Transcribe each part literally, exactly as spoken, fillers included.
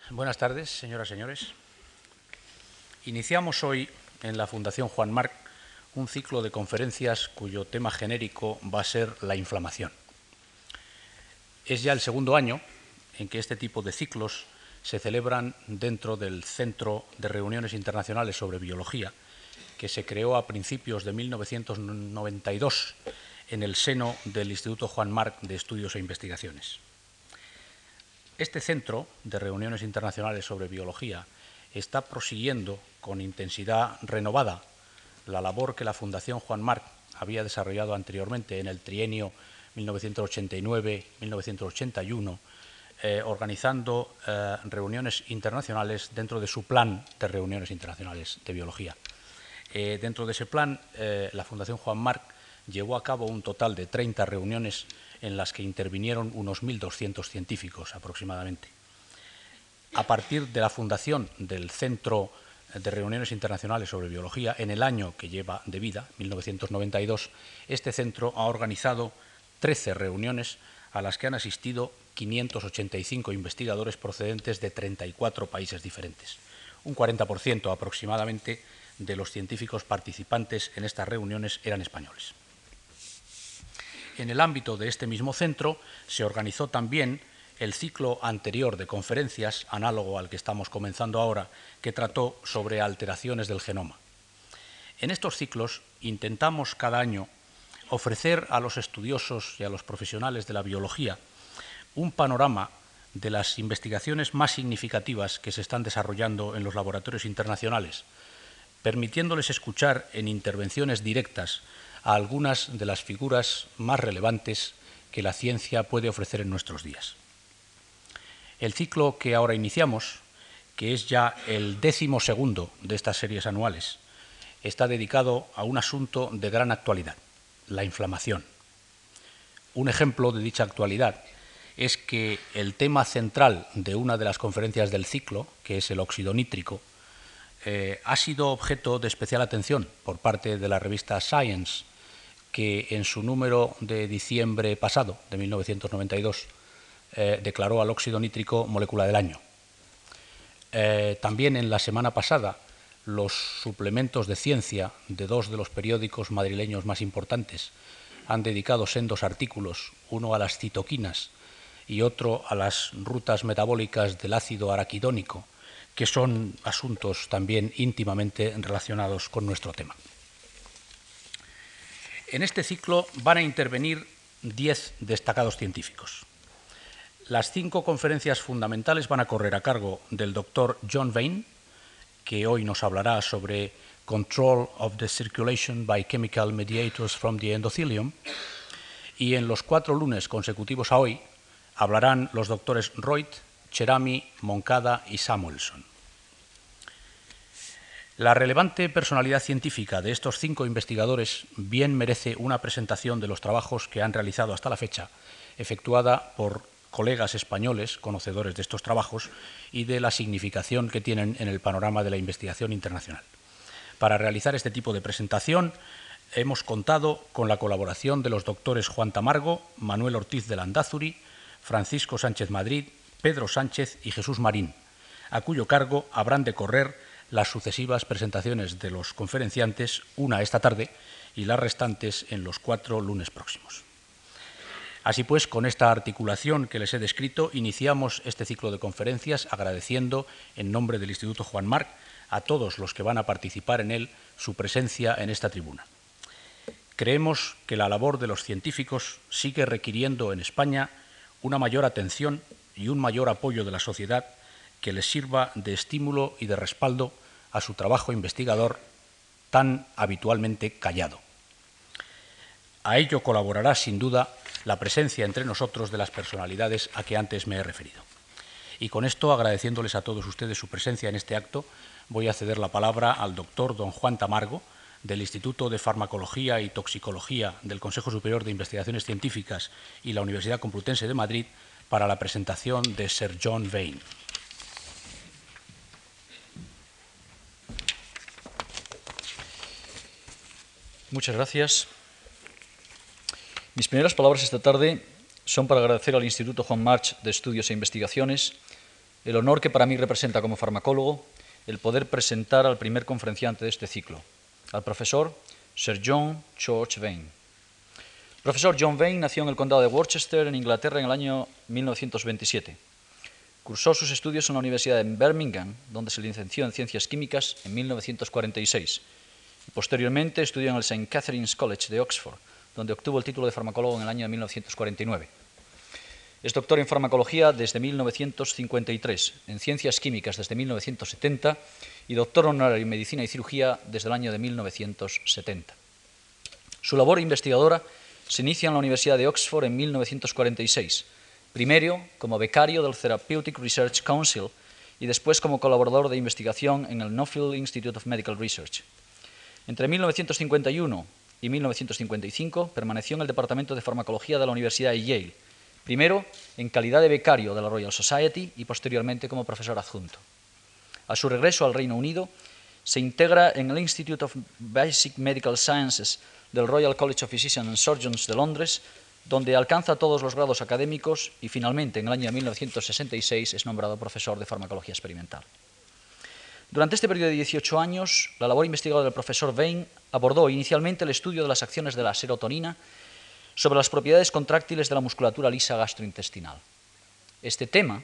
Buenas tardes, señoras y señores. Iniciamos hoy en la Fundación Juan March un ciclo de conferencias cuyo tema genérico va a ser la inflamación. Es ya el segundo año en que este tipo de ciclos se celebran dentro del Centro de Reuniones Internacionales sobre Biología, que se creó a principios de mil novecientos noventa y dos en el seno del Instituto Juan March de Estudios e Investigaciones. Este Centro de Reuniones Internacionales sobre Biología está prosiguiendo con intensidad renovada la labor que la Fundación Juan March había desarrollado anteriormente en el trienio mil novecientos ochenta y nueve a mil novecientos ochenta y uno, eh, organizando eh, reuniones internacionales dentro de su plan de reuniones internacionales de biología. Eh, dentro de ese plan, eh, la Fundación Juan March llevó a cabo un total de treinta reuniones en las que intervinieron unos mil doscientos científicos aproximadamente. A partir de la fundación del Centro de Reuniones Internacionales sobre Biología, en el año que lleva de vida, mil novecientos noventa y dos, este centro ha organizado trece reuniones a las que han asistido quinientos ochenta y cinco investigadores procedentes de treinta y cuatro países diferentes. Un cuarenta por ciento aproximadamente de los científicos participantes en estas reuniones eran españoles. En el ámbito de este mismo centro se organizó también el ciclo anterior de conferencias, análogo al que estamos comenzando ahora, que trató sobre alteraciones del genoma. En estos ciclos intentamos cada año ofrecer a los estudiosos y a los profesionales de la biología un panorama de las investigaciones más significativas que se están desarrollando en los laboratorios internacionales, permitiéndoles escuchar en intervenciones directas a algunas de las figuras más relevantes que la ciencia puede ofrecer en nuestros días. El ciclo que ahora iniciamos, que es ya el décimo segundo de estas series anuales, está dedicado a un asunto de gran actualidad, la inflamación. Un ejemplo de dicha actualidad es que el tema central de una de las conferencias del ciclo, que es el óxido nítrico, eh, ha sido objeto de especial atención por parte de la revista Science, que en su número de diciembre pasado, de mil novecientos noventa y dos, eh, declaró al óxido nítrico molécula del año. Eh, también en la semana pasada, los suplementos de ciencia de dos de los periódicos madrileños más importantes han dedicado sendos artículos, uno a las citoquinas y otro a las rutas metabólicas del ácido araquidónico, que son asuntos también íntimamente relacionados con nuestro tema. En este ciclo van a intervenir diez destacados científicos. Las cinco conferencias fundamentales van a correr a cargo del doctor John Vane, que hoy nos hablará sobre Control of the Circulation by Chemical Mediators from the Endothelium, y en los cuatro lunes consecutivos a hoy hablarán los doctores Reut, Cherami, Moncada y Samuelson. La relevante personalidad científica de estos cinco investigadores bien merece una presentación de los trabajos que han realizado hasta la fecha, efectuada por colegas españoles, conocedores de estos trabajos, y de la significación que tienen en el panorama de la investigación internacional. Para realizar este tipo de presentación hemos contado con la colaboración de los doctores Juan Tamargo, Manuel Ortiz de Landázuri, Francisco Sánchez Madrid, Pedro Sánchez y Jesús Marín, a cuyo cargo habrán de correr las sucesivas presentaciones de los conferenciantes, una esta tarde y las restantes en los cuatro lunes próximos. Así pues, con esta articulación que les he descrito, iniciamos este ciclo de conferencias agradeciendo, en nombre del Instituto Juan March, a todos los que van a participar en él su presencia en esta tribuna. Creemos que la labor de los científicos sigue requiriendo en España una mayor atención y un mayor apoyo de la sociedad que les sirva de estímulo y de respaldo a su trabajo investigador tan habitualmente callado. A ello colaborará, sin duda, la presencia entre nosotros de las personalidades a que antes me he referido. Y con esto, agradeciéndoles a todos ustedes su presencia en este acto, voy a ceder la palabra al doctor don Juan Tamargo, del Instituto de Farmacología y Toxicología del Consejo Superior de Investigaciones Científicas y la Universidad Complutense de Madrid, para la presentación de Sir John Vane. Muchas gracias. Mis primeras palabras esta tarde son para agradecer al Instituto Juan March de Estudios e Investigaciones el honor que para mí representa como farmacólogo el poder presentar al primer conferenciante de este ciclo, al profesor Sir John George Vane. El profesor John Vane nació en el condado de Worcester, en Inglaterra, en el año mil novecientos veintisiete. Cursó sus estudios en la Universidad de Birmingham, donde se licenció en Ciencias Químicas en mil novecientos cuarenta y seis. Y posteriormente estudió en el Saint Catherine's College de Oxford, donde obtuvo el título de farmacólogo en el año de mil novecientos cuarenta y nueve. Es doctor en farmacología desde mil novecientos cincuenta y tres, en Ciencias Químicas desde mil novecientos setenta y doctor honorario en Medicina y Cirugía desde el año de mil novecientos setenta. Su labor investigadora se inicia en la Universidad de Oxford en mil novecientos cuarenta y seis, primero como becario del Therapeutic Research Council y después como colaborador de investigación en el Nuffield Institute of Medical Research. Entre mil novecientos cincuenta y uno y mil novecientos cincuenta y cinco permaneció en el Departamento de Farmacología de la Universidad de Yale, primero en calidad de becario de la Royal Society y posteriormente como profesor adjunto. A su regreso al Reino Unido, se integra en el Institute of Basic Medical Sciences del Royal College of Physicians and Surgeons de Londres, donde alcanza todos los grados académicos y finalmente en el año mil novecientos sesenta y seis es nombrado profesor de farmacología experimental. Durante este periodo de dieciocho años, la labor investigadora del profesor Vane abordó inicialmente el estudio de las acciones de la serotonina sobre las propiedades contráctiles de la musculatura lisa gastrointestinal. Este tema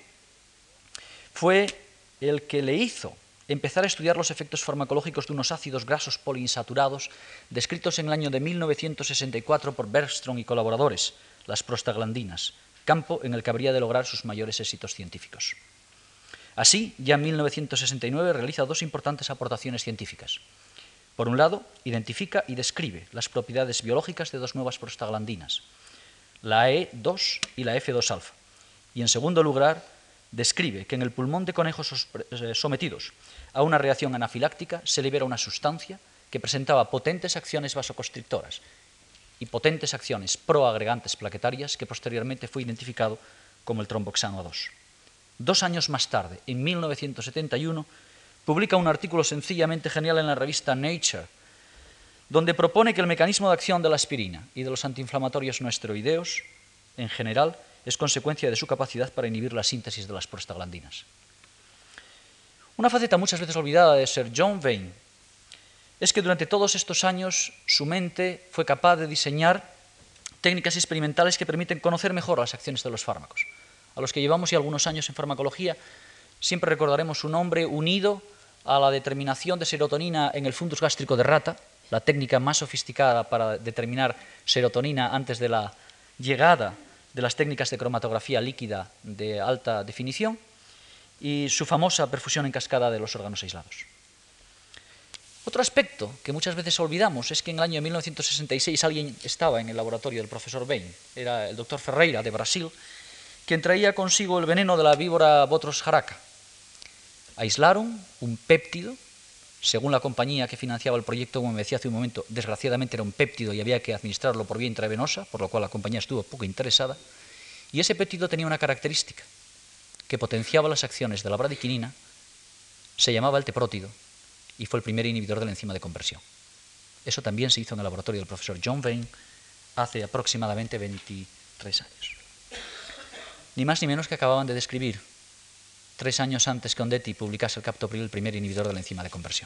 fue el que le hizo empezar a estudiar los efectos farmacológicos de unos ácidos grasos poliinsaturados descritos en el año de mil novecientos sesenta y cuatro por Bergstrom y colaboradores, las prostaglandinas, campo en el que habría de lograr sus mayores éxitos científicos. Así, ya en mil novecientos sesenta y nueve realiza dos importantes aportaciones científicas. Por un lado, identifica y describe las propiedades biológicas de dos nuevas prostaglandinas, la E dos y la F dos alfa. Y en segundo lugar, describe que en el pulmón de conejos sometidos a una reacción anafiláctica se libera una sustancia que presentaba potentes acciones vasoconstrictoras y potentes acciones proagregantes plaquetarias que posteriormente fue identificado como el tromboxano A dos. Dos años más tarde, en mil novecientos setenta y uno, publica un artículo sencillamente genial en la revista Nature, donde propone que el mecanismo de acción de la aspirina y de los antiinflamatorios no esteroideos, en general, es consecuencia de su capacidad para inhibir la síntesis de las prostaglandinas. Una faceta muchas veces olvidada de Sir John Vane es que durante todos estos años su mente fue capaz de diseñar técnicas experimentales que permiten conocer mejor las acciones de los fármacos. A los que llevamos ya algunos años en farmacología, siempre recordaremos su nombre unido a la determinación de serotonina en el fundus gástrico de rata, la técnica más sofisticada para determinar serotonina antes de la llegada de las técnicas de cromatografía líquida de alta definición, y su famosa perfusión en cascada de los órganos aislados. Otro aspecto que muchas veces olvidamos es que en el año de mil novecientos sesenta y seis alguien estaba en el laboratorio del profesor Vane, era el doctor Ferreira de Brasil, quien traía consigo el veneno de la víbora Botros jaraca. Aislaron un péptido, según la compañía que financiaba el proyecto, como me decía hace un momento, desgraciadamente era un péptido y había que administrarlo por vía intravenosa, por lo cual la compañía estuvo poco interesada, y ese péptido tenía una característica, que potenciaba las acciones de la bradiquinina, se llamaba el teprótido y fue el primer inhibidor de la enzima de conversión. Eso también se hizo en el laboratorio del profesor John Vane hace aproximadamente veintitrés años. Ni más ni menos que acababan de describir, tres años antes que Ondetti publicase el captopril, el primer inhibidor de la enzima de conversión.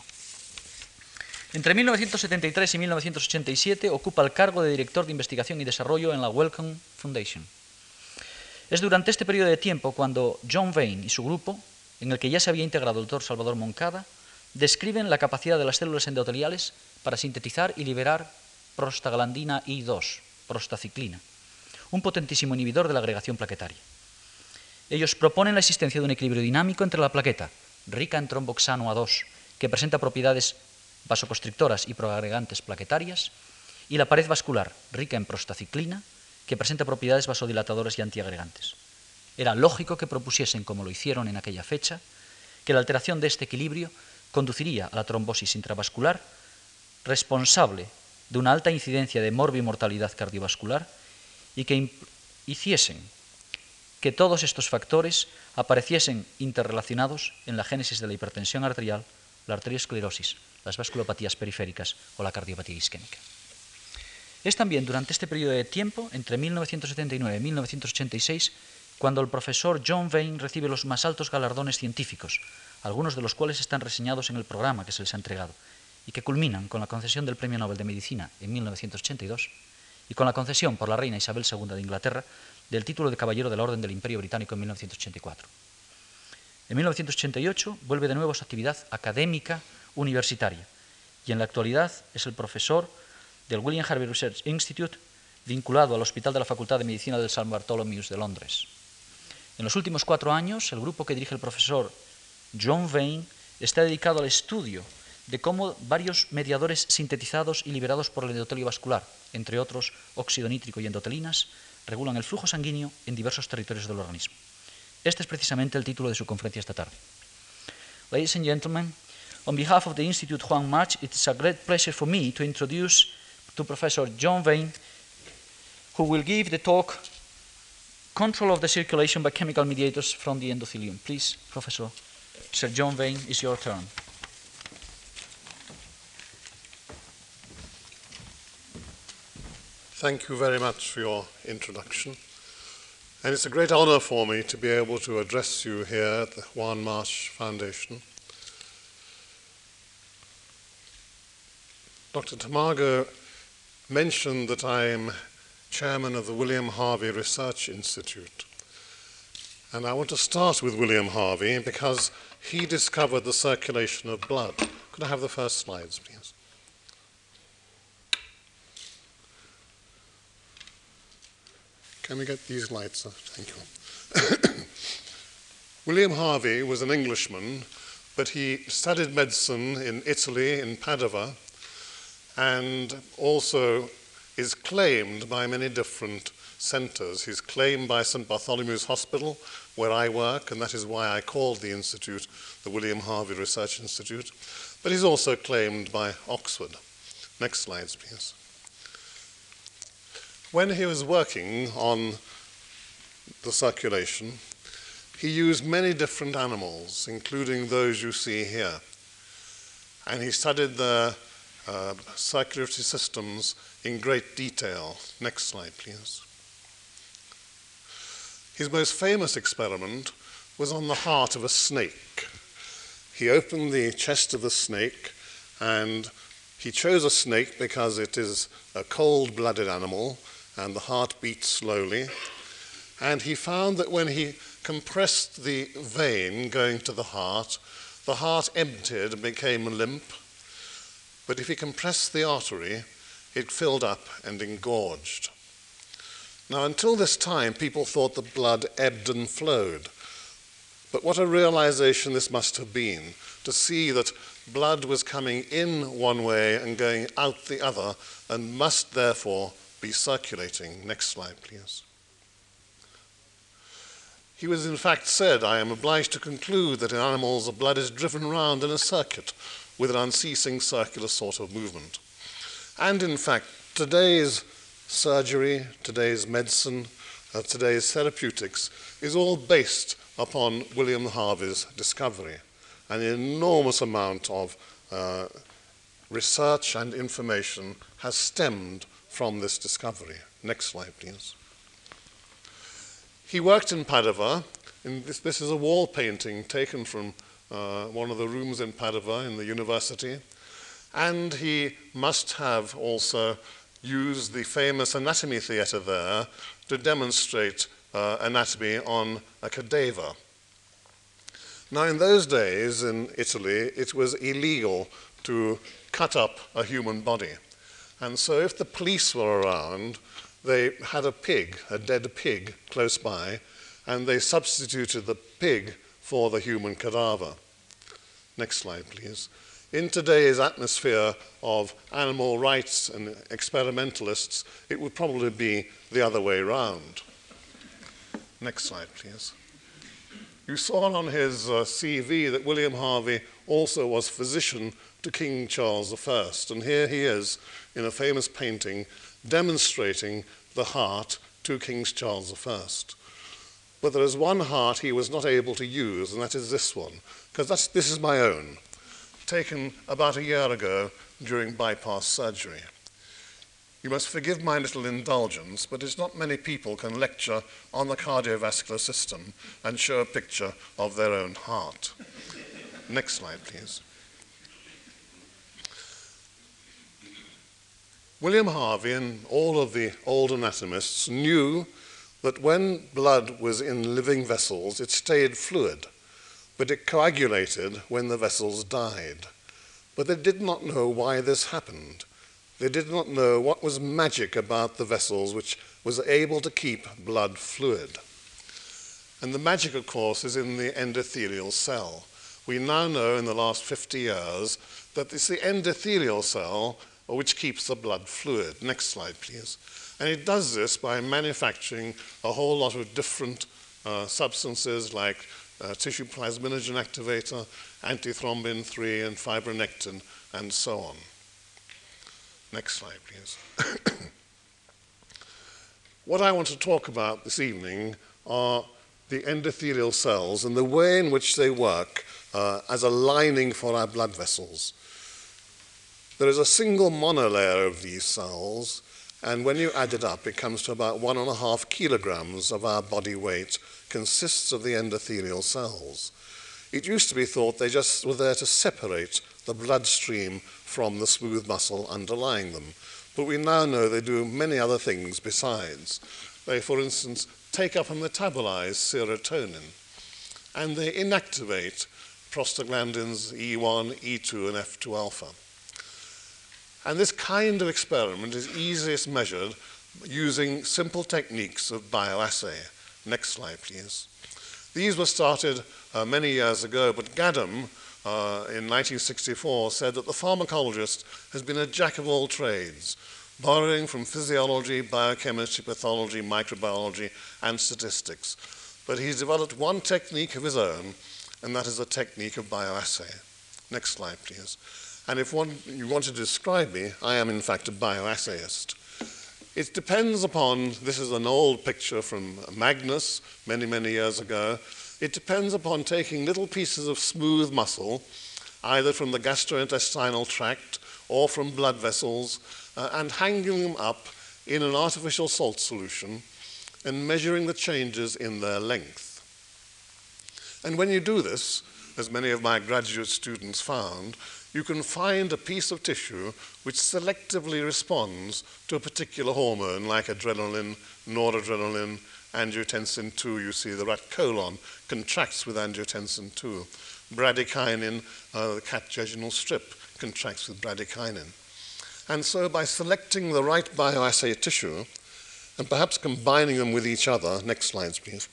Entre mil novecientos setenta y tres y mil novecientos ochenta y siete ocupa el cargo de director de investigación y desarrollo en la Wellcome Foundation. Es durante este periodo de tiempo cuando John Vane y su grupo, en el que ya se había integrado el doctor Salvador Moncada, describen la capacidad de las células endoteliales para sintetizar y liberar prostaglandina I dos, prostaciclina, un potentísimo inhibidor de la agregación plaquetaria. Ellos proponen la existencia de un equilibrio dinámico entre la plaqueta, rica en tromboxano A dos, que presenta propiedades vasoconstrictoras y proagregantes plaquetarias, y la pared vascular, rica en prostaciclina, que presenta propiedades vasodilatadoras y antiagregantes. Era lógico que propusiesen, como lo hicieron en aquella fecha, que la alteración de este equilibrio conduciría a la trombosis intravascular, responsable de una alta incidencia de morbimortalidad cardiovascular, y que hiciesen que todos estos factores apareciesen interrelacionados en la génesis de la hipertensión arterial, la arteriosclerosis, las vasculopatías periféricas o la cardiopatía isquémica. Es también durante este periodo de tiempo, entre mil novecientos setenta y nueve y mil novecientos ochenta y seis, cuando el profesor John Vane recibe los más altos galardones científicos, algunos de los cuales están reseñados en el programa que se les ha entregado, y que culminan con la concesión del Premio Nobel de Medicina en mil novecientos ochenta y dos y con la concesión por la reina Isabel segunda de Inglaterra del título de Caballero de la Orden del Imperio Británico en mil novecientos ochenta y cuatro. En mil novecientos ochenta y ocho vuelve de nuevo a su actividad académica universitaria y en la actualidad es el profesor del William Harvey Research Institute vinculado al Hospital de la Facultad de Medicina del Saint Bartholomew's de Londres. En los últimos cuatro años, el grupo que dirige el profesor John Vane está dedicado al estudio de cómo varios mediadores sintetizados y liberados por el endotelio vascular, entre otros óxido nítrico y endotelinas, regulan el flujo sanguíneo en diversos territorios del organismo. Este es precisamente el título de su conferencia esta tarde. Ladies and gentlemen, on behalf of the Institute Juan March, it is a great pleasure for me to introduce to Professor John Vane, who will give the talk Control of the Circulation by Chemical Mediators from the Endothelium. Please, Professor, Sir John Vane, it's your turn. Thank you very much for your introduction. And it's a great honor for me to be able to address you here at the Juan March Foundation. Doctor Tamargo mentioned that I'm chairman of the William Harvey Research Institute. And I want to start with William Harvey because he discovered the circulation of blood. Could I have the first slides, please? Can we get these lights up? Thank you. William Harvey was an Englishman, but he studied medicine in Italy, in Padua, and also is claimed by many different centers. He's claimed by Saint Bartholomew's Hospital, where I work, and that is why I called the institute the William Harvey Research Institute. But he's also claimed by Oxford. Next slides, please. When he was working on the circulation, he used many different animals, including those you see here. And he studied their uh, circulatory systems in great detail. Next slide, please. His most famous experiment was on the heart of a snake. He opened the chest of the snake, and he chose a snake because it is a cold-blooded animal, and the heart beats slowly. And he found that when he compressed the vein going to the heart, the heart emptied and became limp. But if he compressed the artery, it filled up and engorged. Now, until this time, people thought the blood ebbed and flowed. But what a realization this must have been, to see that blood was coming in one way and going out the other, and must therefore be circulating. Next slide, please. He was in fact said, I am obliged to conclude that in animals the blood is driven round in a circuit with an unceasing circular sort of movement. And in fact, today's surgery, today's medicine, uh, today's therapeutics is all based upon William Harvey's discovery. An enormous amount of uh, research and information has stemmed from this discovery. Next slide, please. He worked in Padua. In this, this is a wall painting taken from uh, one of the rooms in Padua in the university. And he must have also used the famous anatomy theatre there to demonstrate uh, anatomy on a cadaver. Now, in those days in Italy, it was illegal to cut up a human body. And so if the police were around, they had a pig, a dead pig, close by, and they substituted the pig for the human cadaver. Next slide, please. In today's atmosphere of animal rights and experimentalists, it would probably be the other way round. Next slide, please. You saw on his uh, C V that William Harvey also was physician to King Charles the First, and here he is in a famous painting demonstrating the heart to King Charles the First. But there is one heart he was not able to use, and that is this one, because that's, this is my own, taken about a year ago during bypass surgery. You must forgive my little indulgence, but it's not many people can lecture on the cardiovascular system and show a picture of their own heart. Next slide, please. William Harvey and all of the old anatomists knew that when blood was in living vessels, it stayed fluid, but it coagulated when the vessels died. But they did not know why this happened. They did not know what was magic about the vessels which was able to keep blood fluid. And the magic, of course, is in the endothelial cell. We now know in the last fifty years that it's the endothelial cell which keeps the blood fluid. Next slide, please. And it does this by manufacturing a whole lot of different uh, substances like uh, tissue plasminogen activator, antithrombin three, and fibronectin, and so on. Next slide, please. What I want to talk about this evening are the endothelial cells and the way in which they work uh, as a lining for our blood vessels. There is a single monolayer of these cells, and when you add it up, it comes to about one and a half kilograms of our body weight consists of the endothelial cells. It used to be thought they just were there to separate the bloodstream from the smooth muscle underlying them, but we now know they do many other things besides. They, for instance, take up and metabolize serotonin, and they inactivate prostaglandins E one, E two, and F two alpha. And this kind of experiment is easiest measured using simple techniques of bioassay. Next slide, please. These were started uh, many years ago, but Gadam uh, in nineteen sixty-four said that the pharmacologist has been a jack of all trades, borrowing from physiology, biochemistry, pathology, microbiology, and statistics. But he's developed one technique of his own, and that is a technique of bioassay. Next slide, please. And if one, you want to describe me, I am in fact a bioassayist. It depends upon, this is an old picture from Magnus many, many years ago. It depends upon taking little pieces of smooth muscle, either from the gastrointestinal tract or from blood vessels, uh, and hanging them up in an artificial salt solution and measuring the changes in their length. And when you do this, as many of my graduate students found, you can find a piece of tissue which selectively responds to a particular hormone like adrenaline, noradrenaline, angiotensin two. You see the rat colon contracts with angiotensin two. Bradykinin, uh, the cat jejunal strip, contracts with bradykinin. And so by selecting the right bioassay tissue and perhaps combining them with each other, next slides please,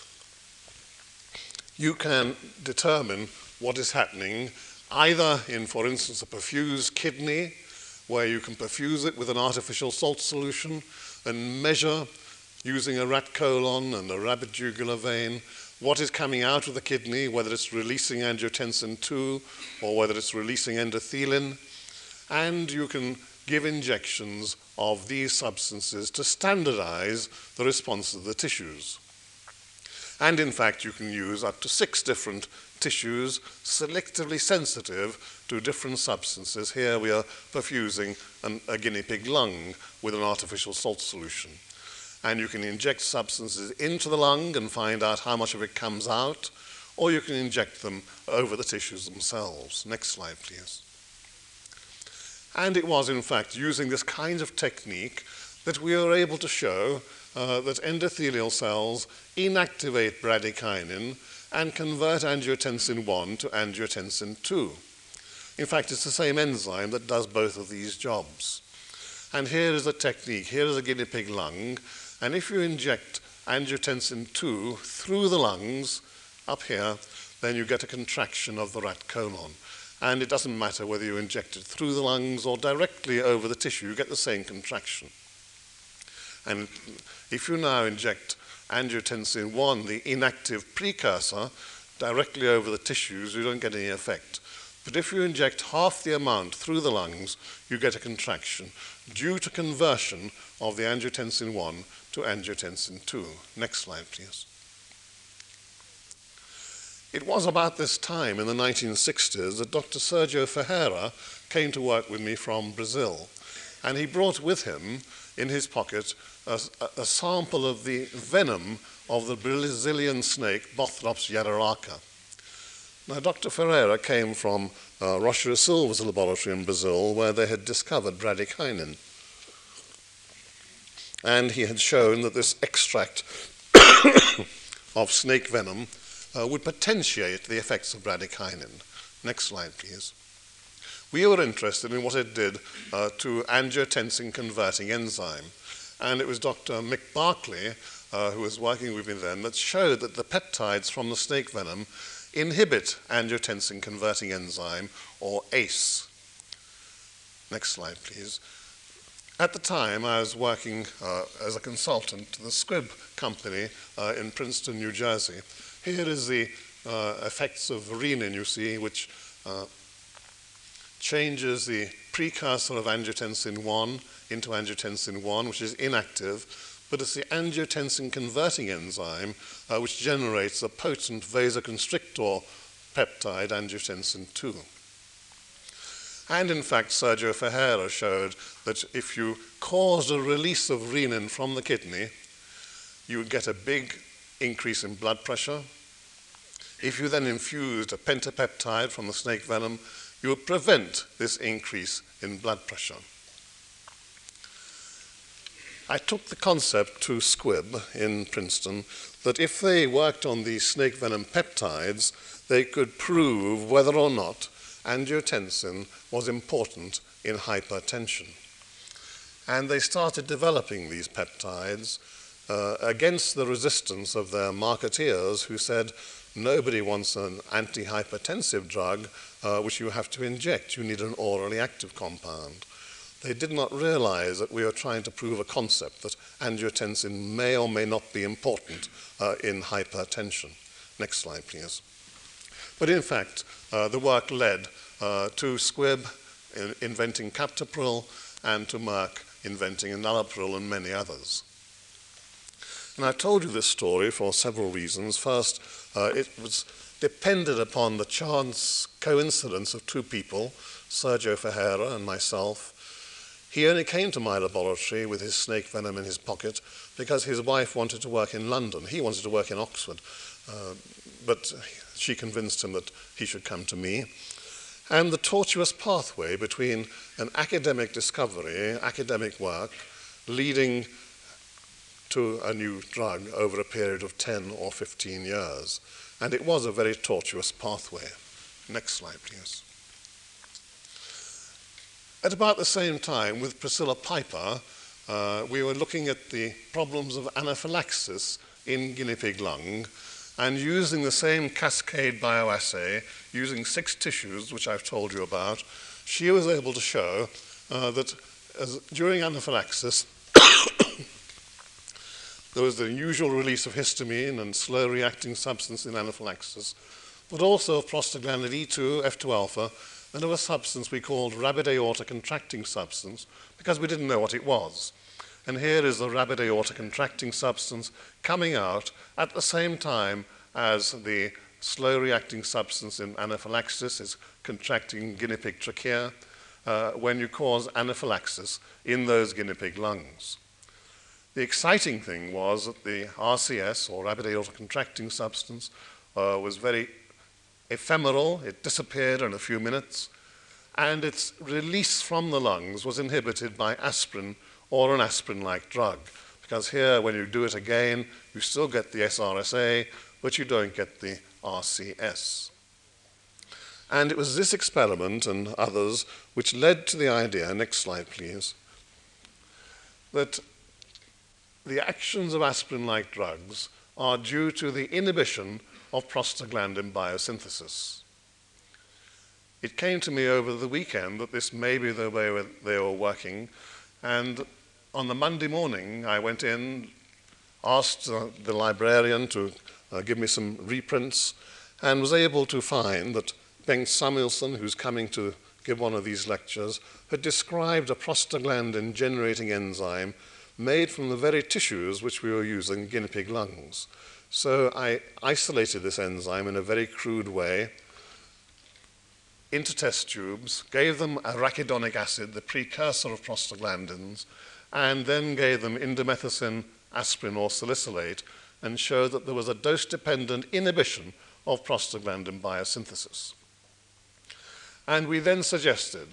you can determine what is happening either in, for instance, a perfused kidney, where you can perfuse it with an artificial salt solution and measure, using a rat colon and a rabbit jugular vein, what is coming out of the kidney, whether it's releasing angiotensin two or whether it's releasing endothelin. And you can give injections of these substances to standardize the response of the tissues. And in fact, you can use up to six different tissues selectively sensitive to different substances. Here we are perfusing an, a guinea pig lung with an artificial salt solution. And you can inject substances into the lung and find out how much of it comes out, or you can inject them over the tissues themselves. Next slide, please. And it was, in fact, using this kind of technique that we were able to show uh, that endothelial cells inactivate bradykinin and convert angiotensin one to angiotensin two. In fact, it's the same enzyme that does both of these jobs. And here is a technique. Here is a guinea pig lung, and if you inject angiotensin two through the lungs, up here, then you get a contraction of the rat colon. And it doesn't matter whether you inject it through the lungs or directly over the tissue, you get the same contraction. And if you now inject angiotensin one, the inactive precursor, directly over the tissues, you don't get any effect. But if you inject half the amount through the lungs, you get a contraction due to conversion of the angiotensin one to angiotensin two. Next slide, please. It was about this time in the nineteen sixties that Doctor Sergio Ferreira came to work with me from Brazil. And he brought with him in his pocket a, a sample of the venom of the Brazilian snake Bothrops yararaca. Now, Doctor Ferreira came from uh, Rocha Silva's laboratory in Brazil, where they had discovered bradykinin. And he had shown that this extract of snake venom uh, would potentiate the effects of bradykinin. Next slide, please. We were interested in what it did uh, to angiotensin-converting enzyme. And it was Doctor Mick Barclay, uh, who was working with me then, that showed that the peptides from the snake venom inhibit angiotensin-converting enzyme, or A C E. Next slide, please. At the time, I was working uh, as a consultant to the Squibb company uh, in Princeton, New Jersey. Here is the uh, effects of renin, you see, which uh, changes the precursor of angiotensin one into angiotensin one, which is inactive, but it's the angiotensin-converting enzyme uh, which generates a potent vasoconstrictor peptide, angiotensin two. And in fact, Sergio Ferreira showed that if you caused a release of renin from the kidney, you would get a big increase in blood pressure. If you then infused a pentapeptide from the snake venom, you would prevent this increase in blood pressure. I took the concept to Squibb in Princeton that if they worked on these snake venom peptides, they could prove whether or not angiotensin was important in hypertension. And they started developing these peptides uh, against the resistance of their marketeers, who said, nobody wants an antihypertensive drug uh, which you have to inject. You need an orally active compound. They did not realize that we were trying to prove a concept that angiotensin may or may not be important uh, in hypertension. Next slide, please. But in fact, uh, the work led uh, to Squibb in inventing captopril and to Merck inventing enalapril and many others. And I've told you this story for several reasons. First, uh, it was depended upon the chance coincidence of two people, Sergio Ferreira and myself. He only came to my laboratory with his snake venom in his pocket because his wife wanted to work in London. He wanted to work in Oxford, uh, but she convinced him that he should come to me. And the tortuous pathway between an academic discovery, academic work, leading to a new drug over a period of ten or fifteen years. And it was a very tortuous pathway. Next slide, please. At about the same time, with Priscilla Piper, uh, we were looking at the problems of anaphylaxis in guinea pig lung, and using the same cascade bioassay, using six tissues, which I've told you about, she was able to show uh, that as, during anaphylaxis, there was the usual release of histamine and slow-reacting substance in anaphylaxis, but also of prostaglandin E two, F two alpha, and of a substance we called rapid aorta contracting substance, because we didn't know what it was. And here is the rapid aorta contracting substance coming out at the same time as the slow-reacting substance in anaphylaxis is contracting guinea pig trachea uh, when you cause anaphylaxis in those guinea pig lungs. The exciting thing was that the R C S, or rapid aorta contracting substance, uh, was very ephemeral. It disappeared in a few minutes, and its release from the lungs was inhibited by aspirin or an aspirin-like drug, because here, when you do it again, you still get the S R S A, but you don't get the R C S. And it was this experiment and others which led to the idea, next slide please, that the actions of aspirin-like drugs are due to the inhibition of prostaglandin biosynthesis. It came to me over the weekend that this may be the way they were working, and on the Monday morning I went in, asked uh, the librarian to uh, give me some reprints, and was able to find that Bengt Samuelsson, who's coming to give one of these lectures, had described a prostaglandin-generating enzyme made from the very tissues which we were using, guinea pig lungs. So I isolated this enzyme in a very crude way, into test tubes, gave them arachidonic acid, the precursor of prostaglandins, and then gave them indomethacin, aspirin, or salicylate, and showed that there was a dose-dependent inhibition of prostaglandin biosynthesis. And we then suggested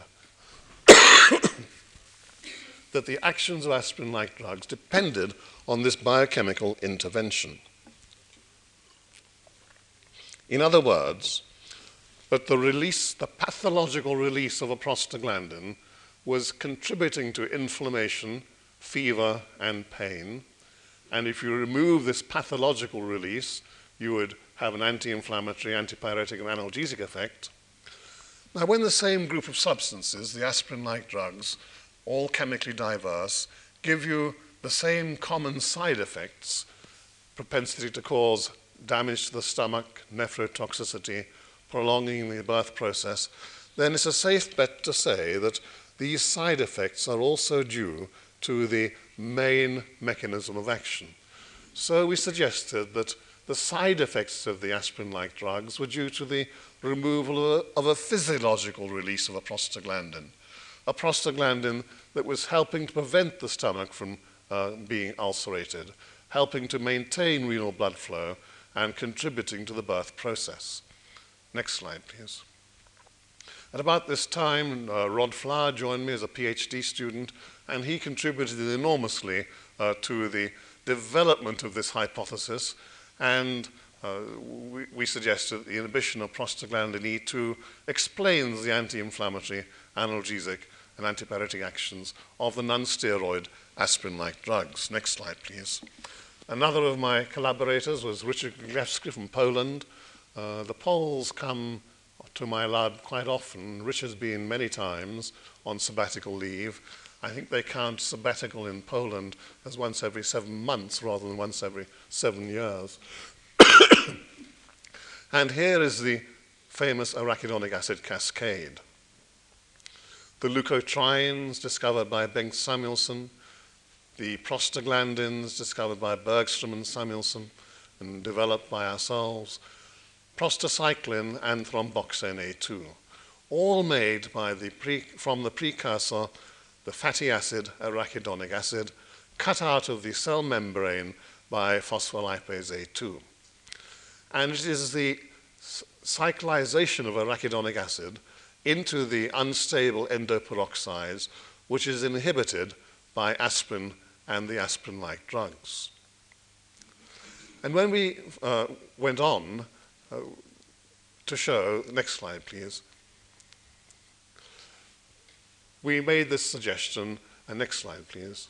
that the actions of aspirin-like drugs depended on this biochemical intervention. In other words, that the release, the pathological release of a prostaglandin was contributing to inflammation, fever, and pain. And if you remove this pathological release, you would have an anti-inflammatory, antipyretic, and analgesic effect. Now, when the same group of substances, the aspirin-like drugs, all chemically diverse, give you the same common side effects, propensity to cause damage to the stomach, nephrotoxicity, prolonging the birth process, then it's a safe bet to say that these side effects are also due to the main mechanism of action. So we suggested that the side effects of the aspirin-like drugs were due to the removal of a, of a physiological release of a prostaglandin, a prostaglandin that was helping to prevent the stomach from uh, being ulcerated, helping to maintain renal blood flow, and contributing to the birth process. Next slide, please. At about this time, uh, Rod Flower joined me as a PhD student, and he contributed enormously uh, to the development of this hypothesis, and uh, we, we suggested the inhibition of prostaglandin E two explains the anti-inflammatory, analgesic, and antipyretic actions of the non-steroid aspirin-like drugs. Next slide, please. Another of my collaborators was Richard Glewski from Poland. Uh, the Poles come to my lab quite often. Richard's been many times on sabbatical leave. I think they count sabbatical in Poland as once every seven months rather than once every seven years. And here is the famous arachidonic acid cascade. The leukotrienes discovered by Bengt Samuelsson, the prostaglandins discovered by Bergstrom and Samuelsson and developed by ourselves, prostacyclin and thromboxane A two, all made by the pre, from the precursor, the fatty acid arachidonic acid, cut out of the cell membrane by phospholipase A two. And it is the cyclization of arachidonic acid into the unstable endoperoxides which is inhibited by aspirin and the aspirin-like drugs. And when we uh, went on uh, to show, next slide please, we made this suggestion, and next slide please,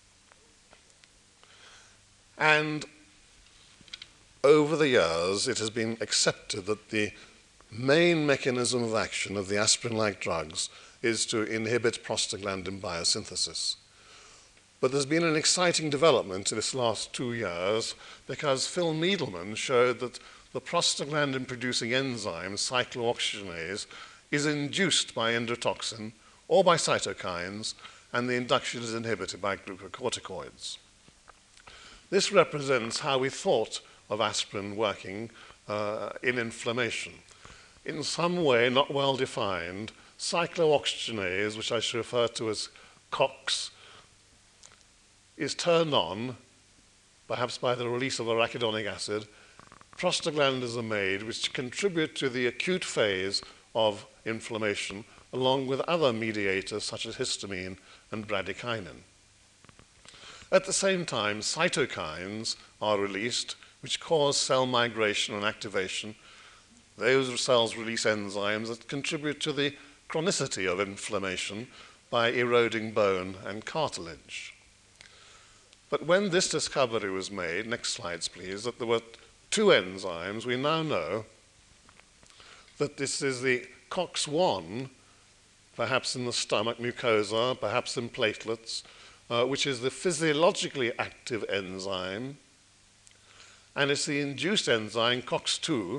and over the years it has been accepted that the main mechanism of action of the aspirin-like drugs is to inhibit prostaglandin biosynthesis. But there's been an exciting development in this last two years because Phil Needleman showed that the prostaglandin-producing enzyme, cyclooxygenase, is induced by endotoxin or by cytokines, and the induction is inhibited by glucocorticoids. This represents how we thought of aspirin working uh, in inflammation. In some way, not well defined, cyclooxygenase, which I should refer to as COX, is turned on, perhaps by the release of arachidonic acid. Prostaglandins are made which contribute to the acute phase of inflammation, along with other mediators such as histamine and bradykinin. At the same time, cytokines are released, which cause cell migration and activation. Those cells release enzymes that contribute to the chronicity of inflammation by eroding bone and cartilage. But when this discovery was made, next slides please, that there were two enzymes, we now know that this is the COX one, perhaps in the stomach mucosa, perhaps in platelets, uh, which is the physiologically active enzyme, and it's the induced enzyme COX two,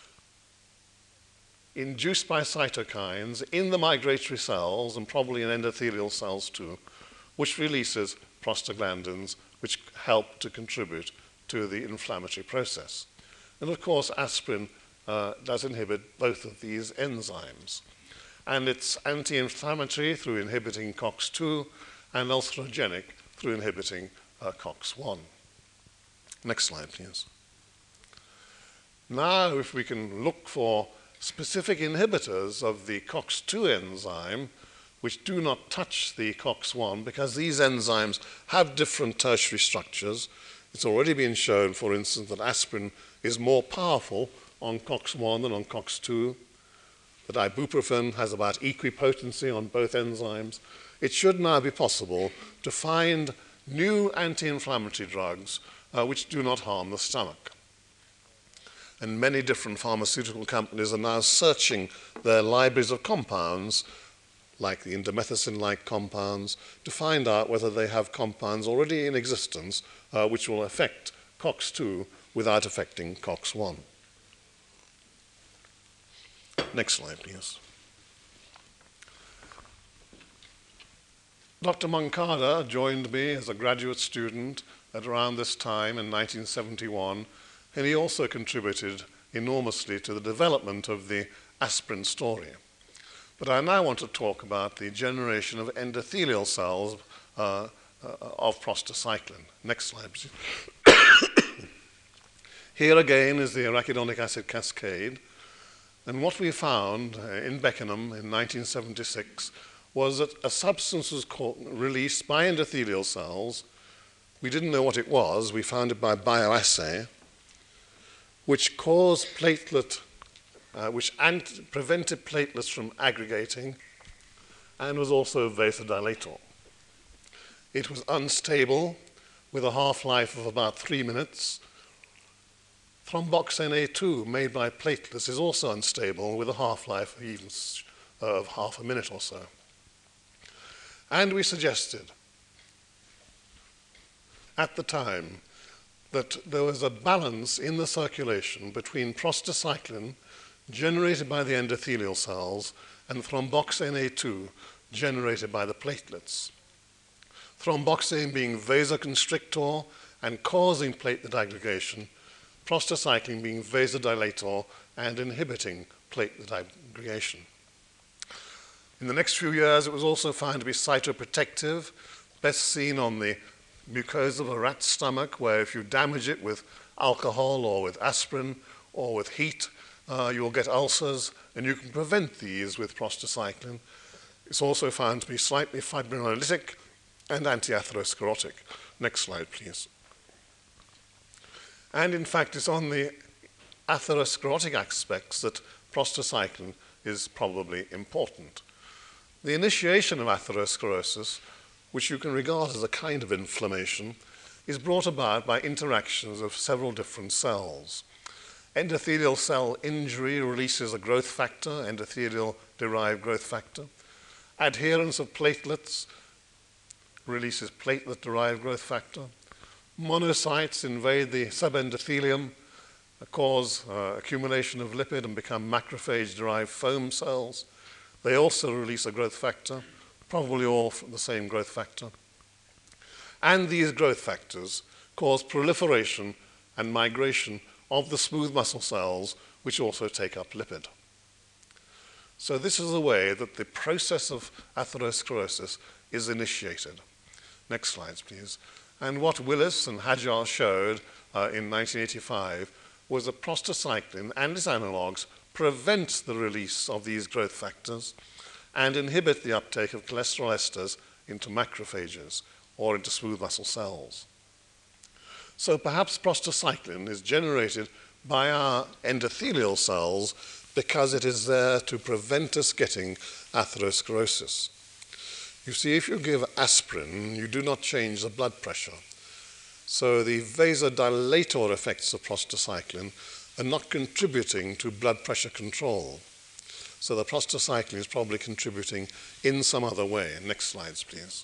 induced by cytokines in the migratory cells and probably in endothelial cells too, which releases prostaglandins, which help to contribute to the inflammatory process. And of course, aspirin uh, does inhibit both of these enzymes. and it's anti-inflammatory through inhibiting COX two and ulcerogenic through inhibiting uh, COX one. Next slide, please. Now, if we can look for specific inhibitors of the COX two enzyme, which do not touch the COX one, because these enzymes have different tertiary structures. It's already been shown, for instance, that aspirin is more powerful on COX one than on COX two, that ibuprofen has about equipotency on both enzymes. It should now be possible to find new anti-inflammatory drugs uh, which do not harm the stomach. And many different pharmaceutical companies are now searching their libraries of compounds, like the indomethacin-like compounds, to find out whether they have compounds already in existence uh, which will affect COX two without affecting COX one. Next slide, please. Doctor Moncada joined me as a graduate student at around this time in nineteen seventy-one, and he also contributed enormously to the development of the aspirin story. But I now want to talk about the generation of endothelial cells uh, uh, of prostacyclin. Next slide, please. Here again is the arachidonic acid cascade. And what we found uh, in Beckenham in nineteen seventy-six was that a substance was called, released by endothelial cells. We didn't know what it was. We found it by bioassay, which caused platelet, uh, which ant prevented platelets from aggregating and was also a vasodilator. It was unstable with a half-life of about three minutes. Thromboxane A two made by platelets is also unstable with a half-life of even of half a minute or so. And we suggested at the time that there was a balance in the circulation between prostacyclin generated by the endothelial cells and thromboxane A two generated by the platelets. Thromboxane being vasoconstrictor and causing platelet aggregation, prostacyclin being vasodilator and inhibiting platelet aggregation. In the next few years, it was also found to be cytoprotective, best seen on the mucosa of a rat's stomach, where if you damage it with alcohol or with aspirin or with heat, uh, you will get ulcers, and you can prevent these with prostacyclin. It's also found to be slightly fibrinolytic and anti-atherosclerotic. Next slide, please. And in fact, it's on the atherosclerotic aspects that prostacyclin is probably important. The initiation of atherosclerosis, which you can regard as a kind of inflammation, is brought about by interactions of several different cells. Endothelial cell injury releases a growth factor, endothelial-derived growth factor. Adherence of platelets releases platelet-derived growth factor. Monocytes invade the subendothelium, cause uh, accumulation of lipid and become macrophage-derived foam cells. They also release a growth factor, probably all from the same growth factor. And these growth factors cause proliferation and migration of the smooth muscle cells, which also take up lipid. So this is the way that the process of atherosclerosis is initiated. Next slides, please. And what Willis and Hajar showed uh, in nineteen eighty-five was that prostacyclin and its analogs prevent the release of these growth factors and inhibit the uptake of cholesterol esters into macrophages or into smooth muscle cells. So perhaps prostacyclin is generated by our endothelial cells because it is there to prevent us getting atherosclerosis. You see, if you give aspirin, you do not change the blood pressure. So the vasodilator effects of prostacyclin are not contributing to blood pressure control. So the prostacyclin is probably contributing in some other way. Next slides, please.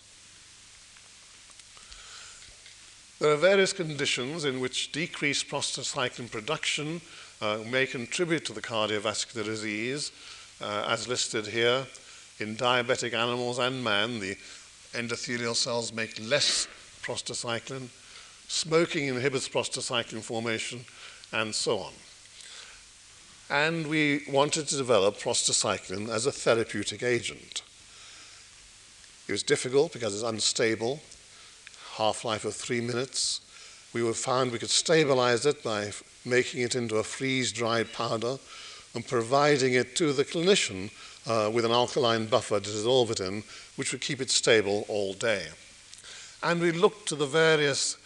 There are various conditions in which decreased prostacyclin production uh, may contribute to the cardiovascular disease, uh, as listed here. In diabetic animals and man, the endothelial cells make less prostacyclin. Smoking inhibits prostacyclin formation, and so on. and we wanted to develop prostacyclin as a therapeutic agent. It was difficult because it's unstable, half-life of three minutes. We found we could stabilize it by making it into a freeze-dried powder and providing it to the clinician uh, with an alkaline buffer to dissolve it in, which would keep it stable all day. And we looked to the various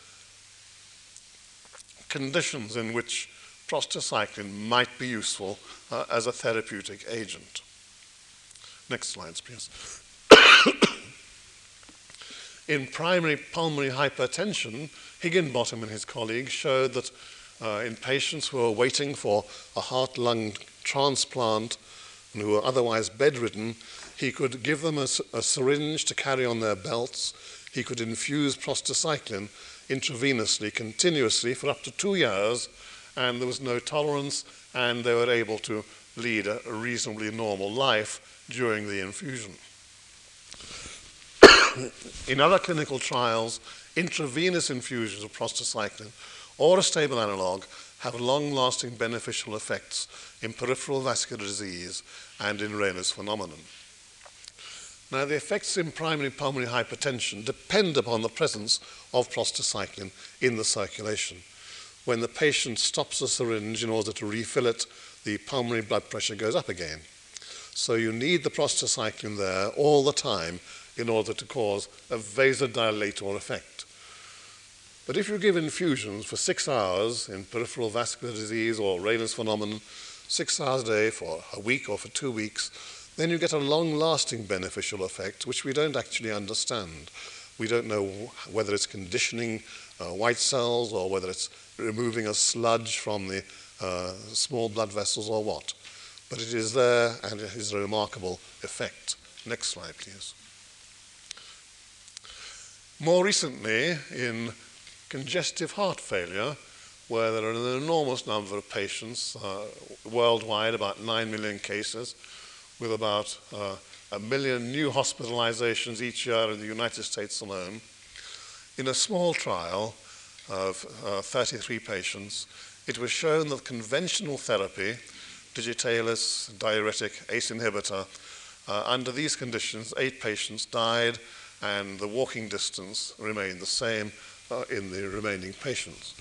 conditions in which prostacyclin might be useful uh, as a therapeutic agent. Next slides, please. In primary pulmonary hypertension, Higginbottom and his colleagues showed that uh, in patients who were waiting for a heart-lung transplant and who were otherwise bedridden, he could give them a, a syringe to carry on their belts. He could infuse prostacyclin intravenously, continuously, for up to two years, and there was no tolerance, and they were able to lead a, a reasonably normal life during the infusion. In other clinical trials, intravenous infusions of prostacyclin or a stable analog have long-lasting beneficial effects in peripheral vascular disease and in Raynaud's phenomenon. Now, the effects in primary pulmonary hypertension depend upon the presence of prostacyclin in the circulation. When the patient stops the syringe in order to refill it, the pulmonary blood pressure goes up again. So you need the prostacyclin there all the time in order to cause a vasodilator effect. But if you give infusions for six hours in peripheral vascular disease or Raynaud's phenomenon, six hours a day for a week or for two weeks, then you get a long-lasting beneficial effect, which we don't actually understand. We don't know whether it's conditioning uh, white cells or whether it's removing a sludge from the uh, small blood vessels or what. But it is there, and it is a remarkable effect. Next slide, please. More recently, in congestive heart failure, where there are an enormous number of patients uh, worldwide, about nine million cases, with about uh, a million new hospitalizations each year in the United States alone. In a small trial of uh, thirty-three patients, it was shown that conventional therapy, digitalis, diuretic, A C E inhibitor, uh, under these conditions, eight patients died, and the walking distance remained the same uh, in the remaining patients.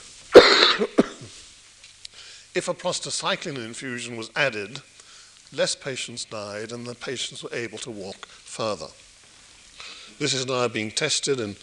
If a prostacyclin infusion was added, less patients died and the patients were able to walk further. This is now being tested in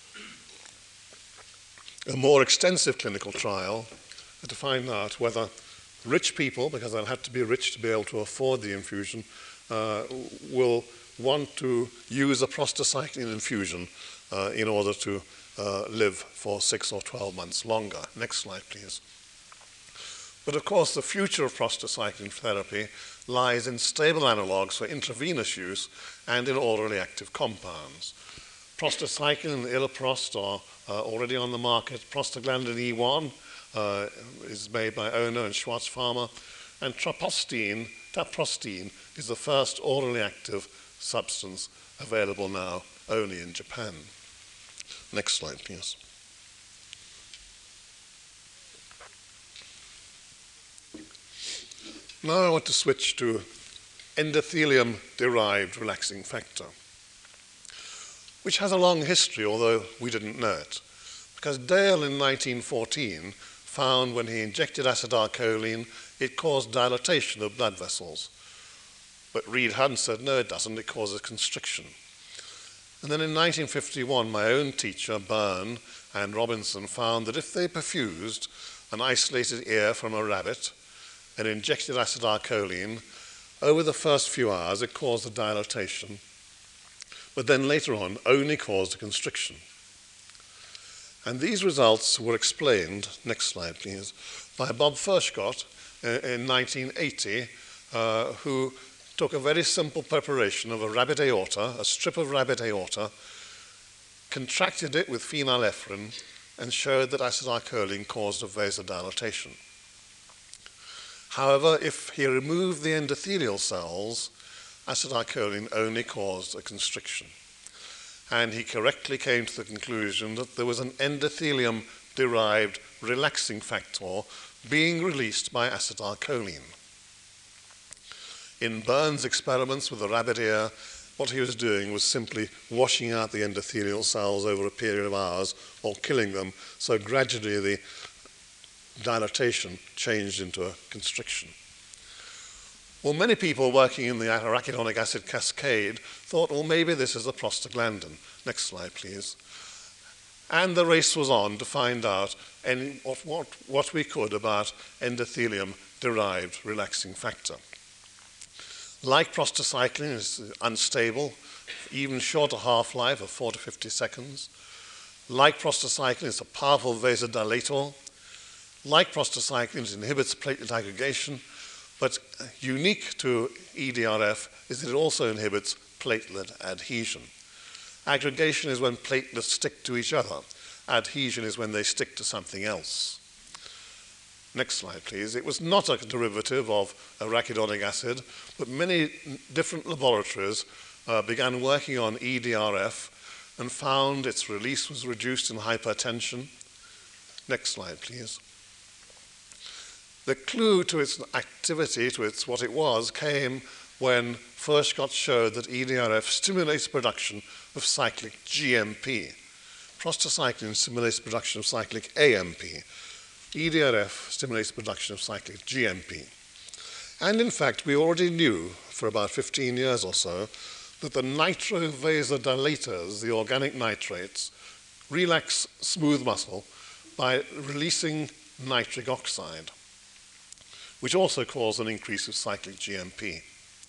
a more extensive clinical trial to find out whether rich people, because they'll have to be rich to be able to afford the infusion, uh, will want to use a prostacyclin infusion uh, in order to uh, live for six or twelve months longer. Next slide, please. But of course, the future of prostacyclin therapy lies in stable analogs for intravenous use and in orally active compounds. Prostacyclin and iloprost are uh, already on the market. Prostaglandin E one uh, is made by Ono and Schwarz Pharma, and traprostine, taprostine is the first orally active substance available now only in Japan. Next slide, please. Now I want to switch to endothelium-derived relaxing factor, which has a long history, although we didn't know it. Because Dale in nineteen fourteen found when he injected acetylcholine, it caused dilatation of blood vessels. But Reed Hunt said, no, it doesn't, it causes constriction. And then in nineteen fifty-one, my own teacher, Byrne and Robinson, found that if they perfused an isolated ear from a rabbit and injected acetylcholine, over the first few hours it caused a dilatation, but then later on only caused a constriction. And these results were explained, next slide please, by Bob Furchgott uh, in nineteen eighty, uh, who took a very simple preparation of a rabbit aorta, a strip of rabbit aorta, contracted it with phenylephrine, and showed that acetylcholine caused a vasodilatation. However, if he removed the endothelial cells, acetylcholine only caused a constriction. And he correctly came to the conclusion that there was an endothelium-derived relaxing factor being released by acetylcholine. In Burns' experiments with the rabbit ear, what he was doing was simply washing out the endothelial cells over a period of hours or killing them, so gradually the dilatation changed into a constriction. Well, many people working in the arachidonic acid cascade thought, well, maybe this is a prostaglandin. Next slide, please. And the race was on to find out any, what, what, what we could about endothelium-derived relaxing factor. Like prostacyclin, it's unstable, even shorter half-life of four to fifty seconds. Like prostacyclin, it's a powerful vasodilator. Like prostacyclin, it inhibits platelet aggregation, but unique to E D R F is that it also inhibits platelet adhesion. Aggregation is when platelets stick to each other. Adhesion is when they stick to something else. Next slide, please. It was not a derivative of arachidonic acid, but many different laboratories uh, began working on E D R F and found its release was reduced in hypertension. Next slide, please. The clue to its activity, to its what it was, came when Furchtgott showed that E D R F stimulates production of cyclic G M P. Prostacyclin stimulates production of cyclic A M P. E D R F stimulates production of cyclic G M P. And in fact, we already knew for about fifteen years or so that the nitrovasodilators, the organic nitrates, relax smooth muscle by releasing nitric oxide, which also cause an increase of cyclic G M P.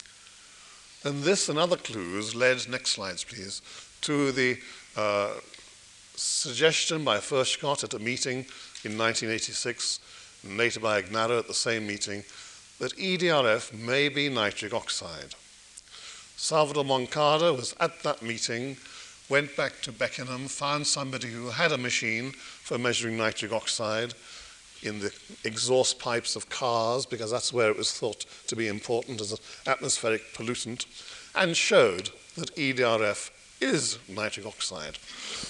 And this and other clues led, next slides please, to the uh, suggestion by Furchtgott at a meeting in nineteen eighty-six, and later by Ignarro at the same meeting, that E D R F may be nitric oxide. Salvador Moncada was at that meeting, went back to Beckenham, found somebody who had a machine for measuring nitric oxide in the exhaust pipes of cars, because that's where it was thought to be important as an atmospheric pollutant, and showed that E D R F is nitric oxide.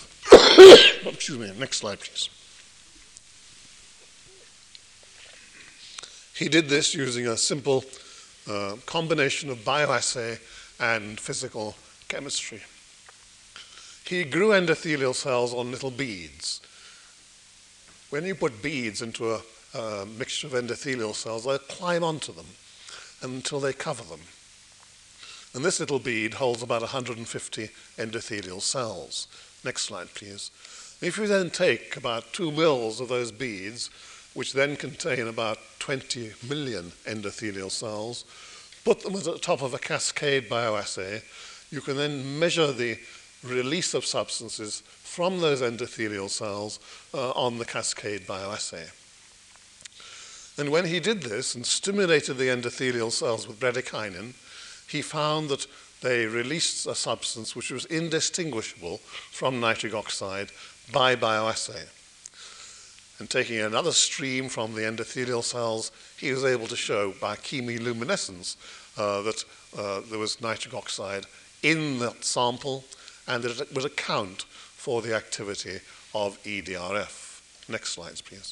Excuse me, next slide, please. He did this using a simple uh, combination of bioassay and physical chemistry. He grew endothelial cells on little beads. When you put beads into a, a mixture of endothelial cells, they climb onto them until they cover them. And this little bead holds about one hundred fifty endothelial cells. Next slide, please. If you then take about two mils of those beads, which then contain about twenty million endothelial cells, put them at the top of a cascade bioassay, you can then measure the release of substances from those endothelial cells uh, on the cascade bioassay. And when he did this and stimulated the endothelial cells with bradykinin, he found that they released a substance which was indistinguishable from nitric oxide by bioassay. And taking another stream from the endothelial cells, he was able to show by chemiluminescence uh, that uh, there was nitric oxide in that sample, and that it would account for the activity of E D R F. Next slides, please.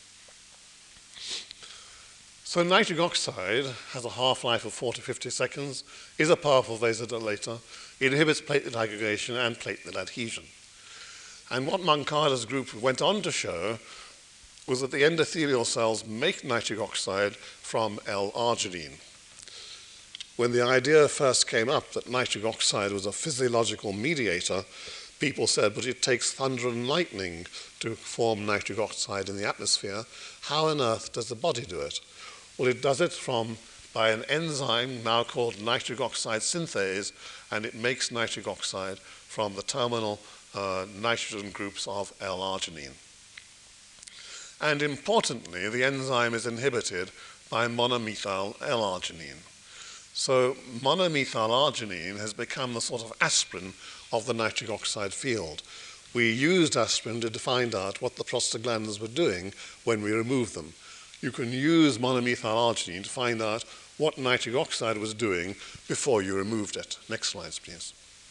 So nitric oxide has a half-life of four to fifty seconds, is a powerful vasodilator, it inhibits platelet aggregation and platelet adhesion. And what Moncada's group went on to show was that the endothelial cells make nitric oxide from L-arginine. When the idea first came up that nitric oxide was a physiological mediator, people said, but it takes thunder and lightning to form nitric oxide in the atmosphere. How on earth does the body do it? Well, it does it from by an enzyme now called nitric oxide synthase, and it makes nitric oxide from the terminal uh, nitrogen groups of L-arginine. And importantly, the enzyme is inhibited by monomethyl L-arginine. So monomethyl arginine has become the sort of aspirin of the nitric oxide field. We used aspirin to find out what the prostaglandins were doing when we removed them. You can use monomethyl arginine to find out what nitric oxide was doing before you removed it. Next slides, please.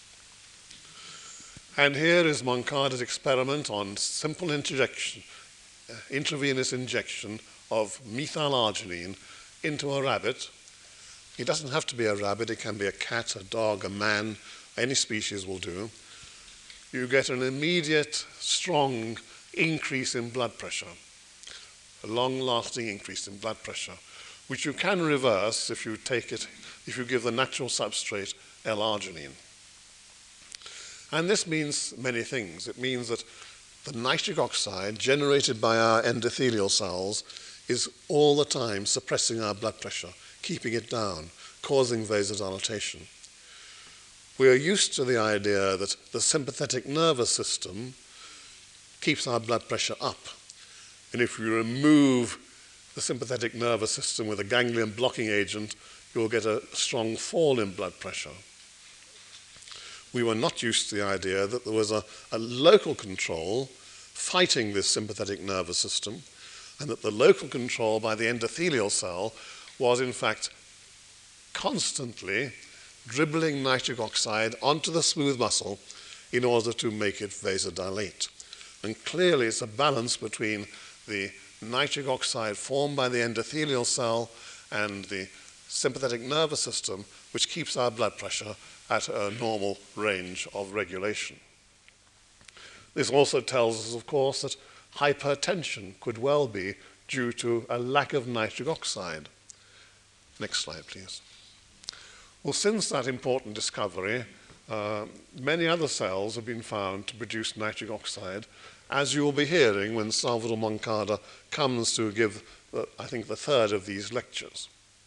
And here is Moncada's experiment on simple injection, uh, intravenous injection of methylarginine into a rabbit. It doesn't have to be a rabbit, it can be a cat, a dog, a man, any species will do. You get an immediate, strong increase in blood pressure, a long-lasting increase in blood pressure, which you can reverse if you take it, if you give the natural substrate L-arginine. And this means many things. It means that the nitric oxide generated by our endothelial cells is all the time suppressing our blood pressure, keeping it down, causing vasodilatation. We are used to the idea that the sympathetic nervous system keeps our blood pressure up. And if you remove the sympathetic nervous system with a ganglion blocking agent, you'll get a strong fall in blood pressure. We were not used to the idea that there was a, a local control fighting this sympathetic nervous system, and that the local control by the endothelial cell was in fact constantly dribbling nitric oxide onto the smooth muscle in order to make it vasodilate. And clearly it's a balance between the nitric oxide formed by the endothelial cell and the sympathetic nervous system, which keeps our blood pressure at a normal range of regulation. This also tells us, of course, that hypertension could well be due to a lack of nitric oxide. Next slide, please. Well, since that important discovery, uh, many other cells have been found to produce nitric oxide, as you will be hearing when Salvador Moncada comes to give, uh, I think, the third of these lectures.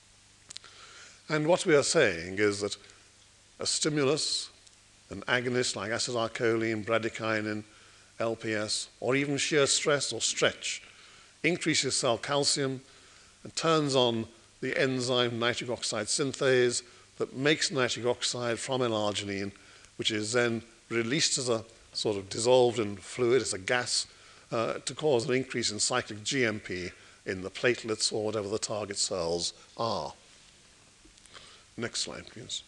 And what we are saying is that a stimulus, an agonist like acetylcholine, bradykinin, L P S, or even shear stress or stretch, increases cell calcium and turns on the enzyme nitric oxide synthase that makes nitric oxide from L-arginine, which is then released as a sort of dissolved in fluid, as a gas, uh, to cause an increase in cyclic G M P in the platelets or whatever the target cells are. Next slide, please.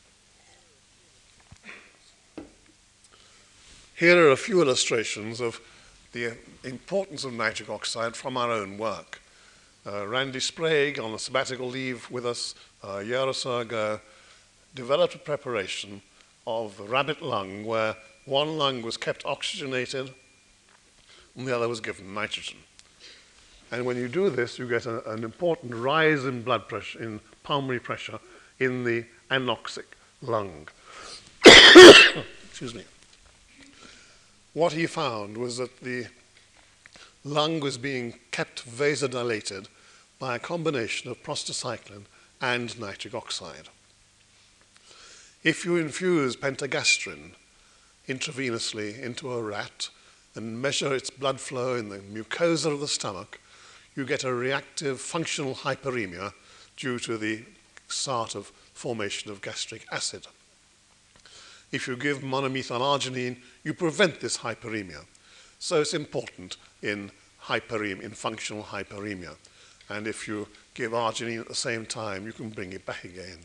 Here are a few illustrations of the importance of nitric oxide from our own work. Uh, Randy Sprague, on a sabbatical leave with us uh, a year or so ago, developed a preparation of the rabbit lung where one lung was kept oxygenated and the other was given nitrogen. And when you do this, you get a, an important rise in blood pressure, in pulmonary pressure, in the anoxic lung. Excuse me. What he found was that the lung was being kept vasodilated by a combination of prostacyclin and nitric oxide. If you infuse pentagastrin intravenously into a rat and measure its blood flow in the mucosa of the stomach, you get a reactive functional hyperemia due to the start of formation of gastric acid. If you give monomethylarginine, you prevent this hyperemia. So it's important in hyperemia, in functional hyperemia. And if you give arginine at the same time, you can bring it back again.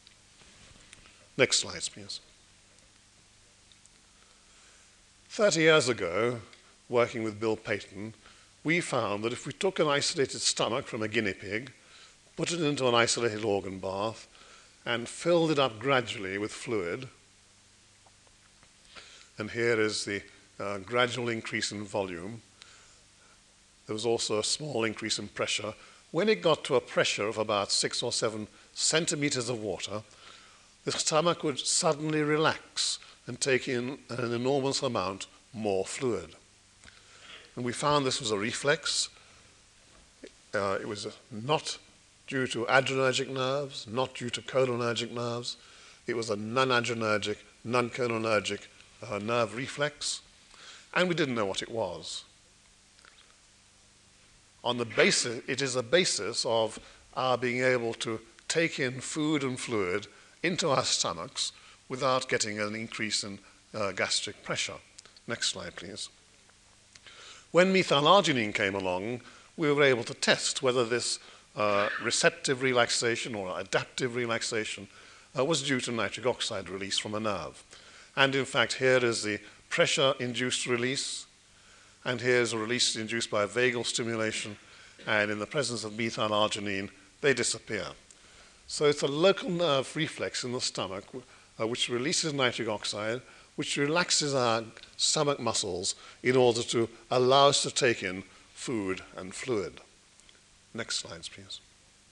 Next slide, please. thirty years ago, working with Bill Payton, we found that if we took an isolated stomach from a guinea pig, put it into an isolated organ bath, and filled it up gradually with fluid, and here is the uh, gradual increase in volume. There was also a small increase in pressure. When it got to a pressure of about six or seven centimeters of water, the stomach would suddenly relax and take in an enormous amount more fluid. And we found this was a reflex. Uh, it was not due to adrenergic nerves, not due to cholinergic nerves. It was a non-adrenergic, non-cholinergic uh, nerve reflex, and we didn't know what it was. On the basis, it is the basis of our being able to take in food and fluid into our stomachs without getting an increase in uh, gastric pressure. Next slide, please. When methylarginine came along, we were able to test whether this uh, receptive relaxation or adaptive relaxation uh, was due to nitric oxide release from a nerve. And in fact, here is the pressure-induced release, and here is a release induced by vagal stimulation, and in the presence of methylarginine, they disappear. So it's a local nerve reflex in the stomach uh, which releases nitric oxide, which relaxes our stomach muscles in order to allow us to take in food and fluid. Next slides, please.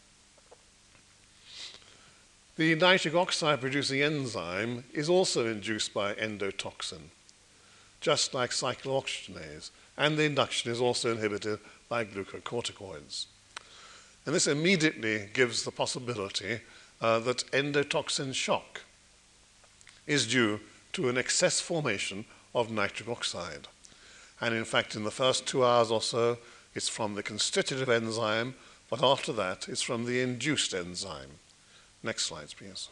The nitric oxide producing enzyme is also induced by endotoxin, just like cyclooxygenase, and the induction is also inhibited by glucocorticoids. And this immediately gives the possibility uh, that endotoxin shock is due to an excess formation of nitric oxide. And in fact, in the first two hours or so, it's from the constitutive enzyme, but after that, it's from the induced enzyme. Next slides, please.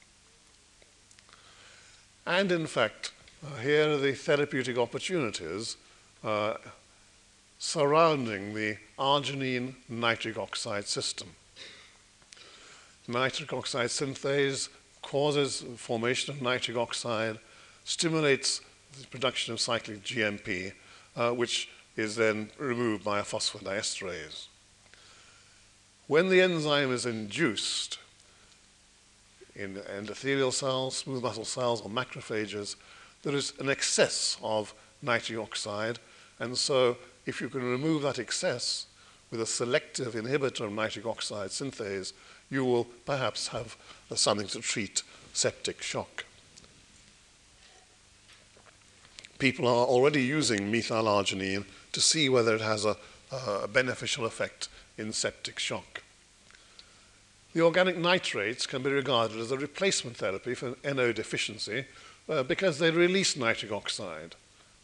And in fact, uh, here are the therapeutic opportunities uh, surrounding the arginine nitric oxide system. Nitric oxide synthase causes formation of nitric oxide, stimulates the production of cyclic G M P, uh, which is then removed by a phosphodiesterase. When the enzyme is induced in endothelial cells, smooth muscle cells, or macrophages, there is an excess of nitric oxide, and so if you can remove that excess with a selective inhibitor of nitric oxide synthase, you will perhaps have uh, something to treat septic shock. People are already using methylarginine to see whether it has a, a beneficial effect in septic shock. The organic nitrates can be regarded as a replacement therapy for N O deficiency uh, because they release nitric oxide.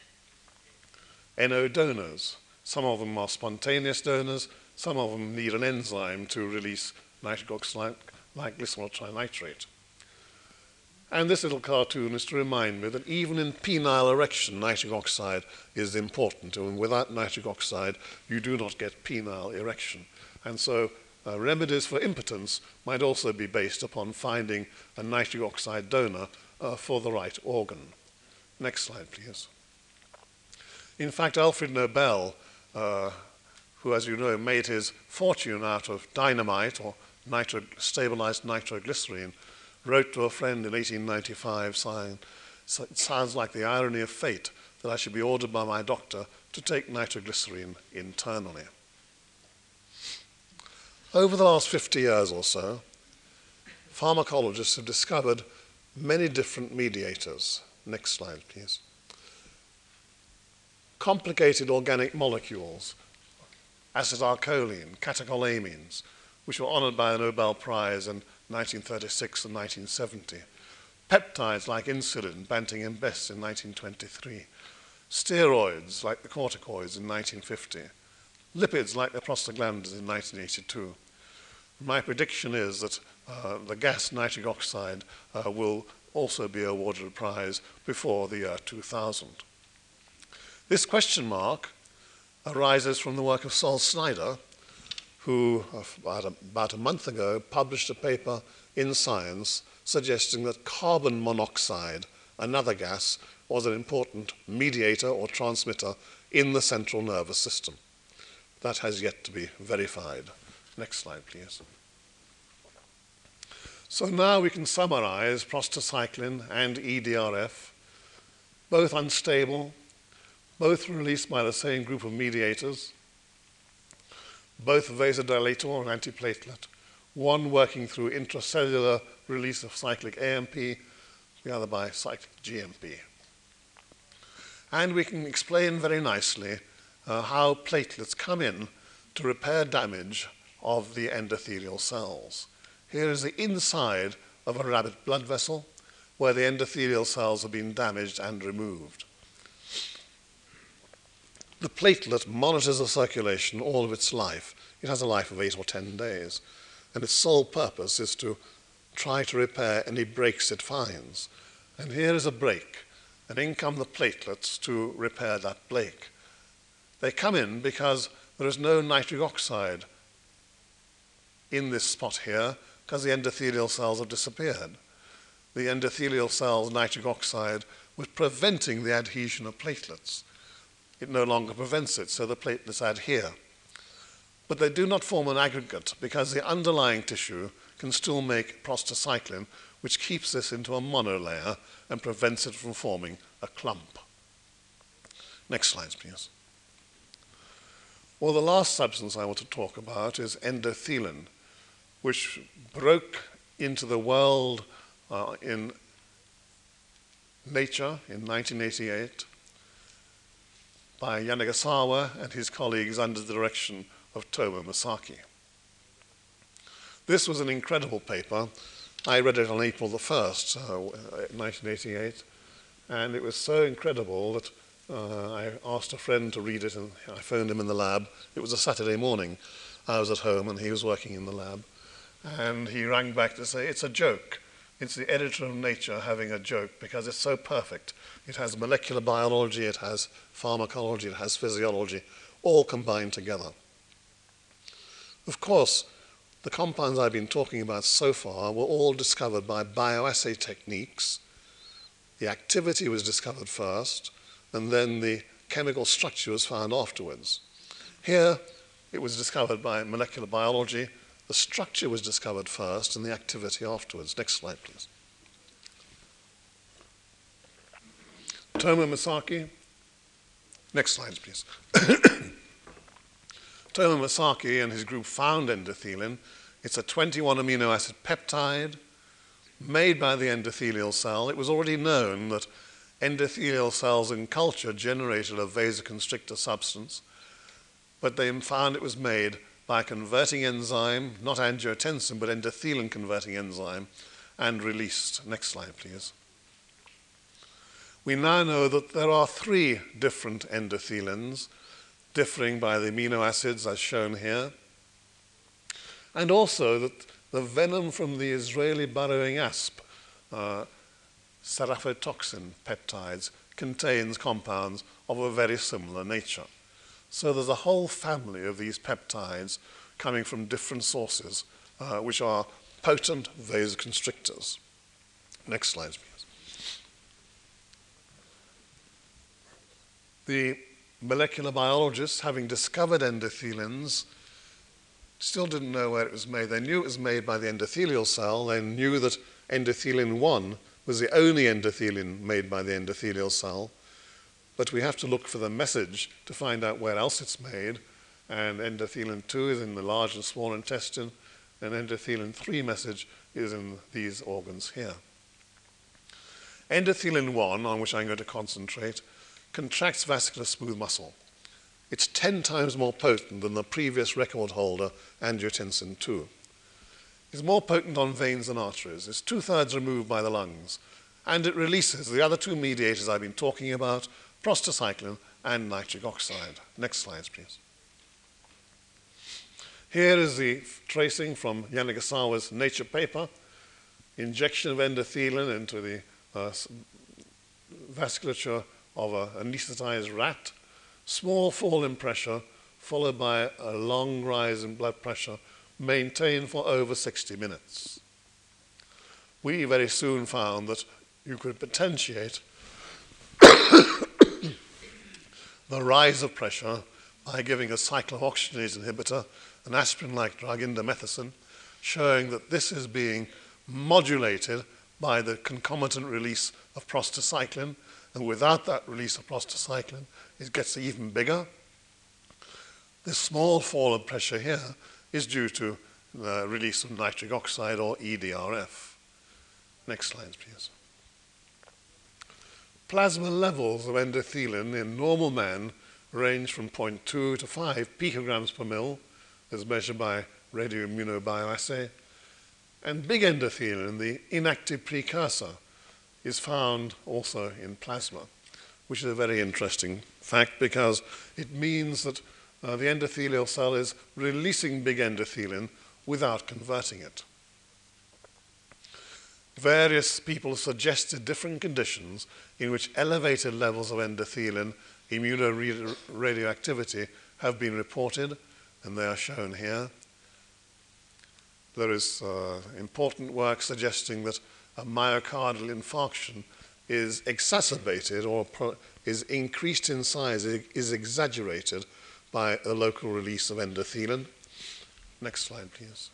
N O donors, some of them are spontaneous donors, some of them need an enzyme to release nitric oxide like glycerol trinitrate. And this little cartoon is to remind me that even in penile erection, nitric oxide is important, and without nitric oxide, you do not get penile erection. And so Uh, remedies for impotence might also be based upon finding a nitric oxide donor uh, for the right organ. Next slide, please. In fact, Alfred Nobel, uh, who, as you know, made his fortune out of dynamite or nitro stabilized nitroglycerine, wrote to a friend in eighteen ninety-five saying, so it sounds like the irony of fate that I should be ordered by my doctor to take nitroglycerine internally. Over the last fifty years or so, pharmacologists have discovered many different mediators. Next slide, please. Complicated organic molecules, acetylcholine, catecholamines, which were honored by a Nobel Prize in nineteen thirty-six and nineteen seventy. Peptides like insulin, Banting and Bess in nineteen twenty-three. Steroids like the corticoids in nineteen fifty. Lipids like the prostaglandins in nineteen eighty-two. My prediction is that uh, the gas nitric oxide uh, will also be awarded a prize before the year two thousand. This question mark arises from the work of Sol Snyder, who about a, about a month ago published a paper in Science suggesting that carbon monoxide, another gas, was an important mediator or transmitter in the central nervous system. That has yet to be verified. Next slide, please. So now we can summarize prostacyclin and E D R F, both unstable, both released by the same group of mediators, both vasodilator or antiplatelet, one working through intracellular release of cyclic A M P, the other by cyclic G M P. And we can explain very nicely uh, how platelets come in to repair damage of the endothelial cells. Here is the inside of a rabbit blood vessel where the endothelial cells have been damaged and removed. The platelet monitors the circulation all of its life. It has a life of eight or ten days, and its sole purpose is to try to repair any breaks it finds. And here is a break, and in come the platelets to repair that break. They come in because there is no nitric oxide in this spot here because the endothelial cells have disappeared. The endothelial cells' nitric oxide was preventing the adhesion of platelets. It no longer prevents it, so the platelets adhere. but they do not form an aggregate because the underlying tissue can still make prostacyclin, which keeps this into a monolayer and prevents it from forming a clump. Next slide, please. Well, the last substance I want to talk about is endothelin, which broke into the world uh, in Nature in nineteen eighty-eight by Yanagisawa and his colleagues under the direction of Tomo Masaki. This was an incredible paper. I read it on April the first, uh, nineteen eighty-eight, and it was so incredible that uh, I asked a friend to read it, and I phoned him in the lab. It was a Saturday morning. I was at home, and he was working in the lab, and he rang back to say, it's a joke. It's the editor of Nature having a joke because it's so perfect. It has molecular biology, it has pharmacology, it has physiology, all combined together. Of course, the compounds I've been talking about so far were all discovered by bioassay techniques. The activity was discovered first, and then the chemical structure was found afterwards. Here, it was discovered by molecular biology. The structure was discovered first and the activity afterwards. Next slide, please. Tomo Masaki. Next slide, please. Tomo Masaki and his group found endothelin. It's a twenty-one amino acid peptide made by the endothelial cell. It was already known that endothelial cells in culture generated a vasoconstrictor substance, but they found it was made by a converting enzyme, not angiotensin, but endothelin converting enzyme, and released. Next slide, please. We now know that there are three different endothelins, differing by the amino acids as shown here, and also that the venom from the Israeli burrowing asp, uh, seraphotoxin peptides, contains compounds of a very similar nature. So there's a whole family of these peptides coming from different sources, uh, which are potent vasoconstrictors. Next slide, please. The molecular biologists, having discovered endothelins, still didn't know where it was made. They knew it was made by the endothelial cell. They knew that endothelin one was the only endothelin made by the endothelial cell. But we have to look for the message to find out where else it's made. And endothelin two is in the large and small intestine, and endothelin three message is in these organs here. Endothelin one, on which I'm going to concentrate, contracts vascular smooth muscle. It's ten times more potent than the previous record holder, angiotensin two. It's more potent on veins and arteries. It's two-thirds removed by the lungs. And it releases the other two mediators I've been talking about, prostacyclin and nitric oxide. Next slides, please. Here is the tracing from Yanagisawa's Nature paper, injection of endothelin into the uh, vasculature of an anesthetized rat, small fall in pressure, followed by a long rise in blood pressure, maintained for over sixty minutes. We very soon found that you could potentiate the rise of pressure by giving a cyclooxygenase inhibitor, an aspirin-like drug, indomethacin, showing that this is being modulated by the concomitant release of prostacyclin, and without that release of prostacyclin, it gets even bigger. This small fall of pressure here is due to the release of nitric oxide, or E D R F. Next slide, please. Plasma levels of endothelin in normal man range from zero point two to five picograms per mil, as measured by radioimmunobioassay. And big endothelin, the inactive precursor, is found also in plasma, which is a very interesting fact because it means that uh, the endothelial cell is releasing big endothelin without converting it. Various people suggested different conditions in which elevated levels of endothelin immunoradioactivity have been reported, and they are shown here. There is uh, important work suggesting that a myocardial infarction is exacerbated or pro is increased in size, is exaggerated by a local release of endothelin. Next slide, please.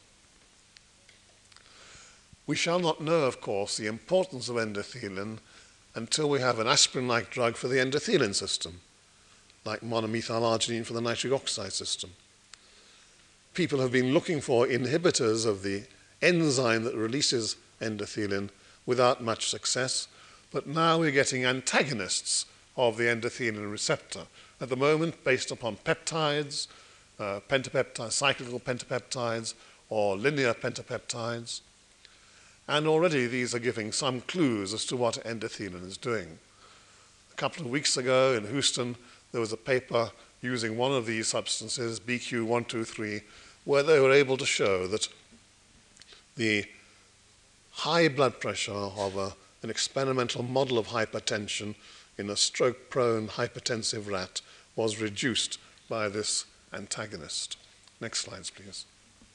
We shall not know, of course, the importance of endothelin until we have an aspirin-like drug for the endothelin system, like monomethylarginine for the nitric oxide system. People have been looking for inhibitors of the enzyme that releases endothelin without much success, but now we're getting antagonists of the endothelin receptor. At the moment, based upon peptides, uh, pentapeptides, cyclical pentapeptides, or linear pentapeptides. And already these are giving some clues as to what endothelin is doing. A couple of weeks ago in Houston, there was a paper using one of these substances, B Q one two three, where they were able to show that the high blood pressure of a, an experimental model of hypertension in a stroke-prone hypertensive rat was reduced by this antagonist. Next slides, please.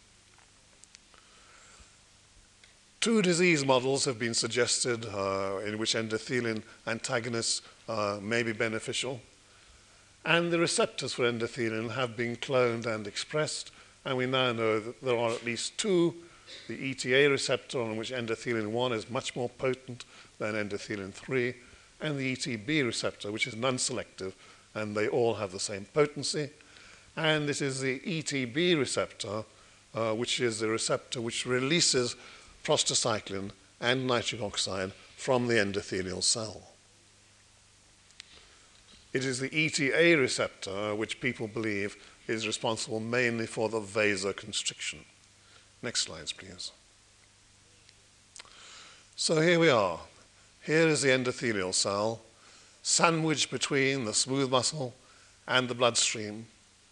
Two disease models have been suggested uh, in which endothelin antagonists uh, may be beneficial. And the receptors for endothelin have been cloned and expressed, and we now know that there are at least two. The E T A receptor, on which endothelin one is much more potent than endothelin three, and the E T B receptor, which is non-selective, and they all have the same potency. And this is the E T B receptor, uh, which is the receptor which releases prostacyclin and nitric oxide from the endothelial cell. It is the E T A receptor which people believe is responsible mainly for the vasoconstriction. Next slides, please. So here we are. Here is the endothelial cell, sandwiched between the smooth muscle and the bloodstream,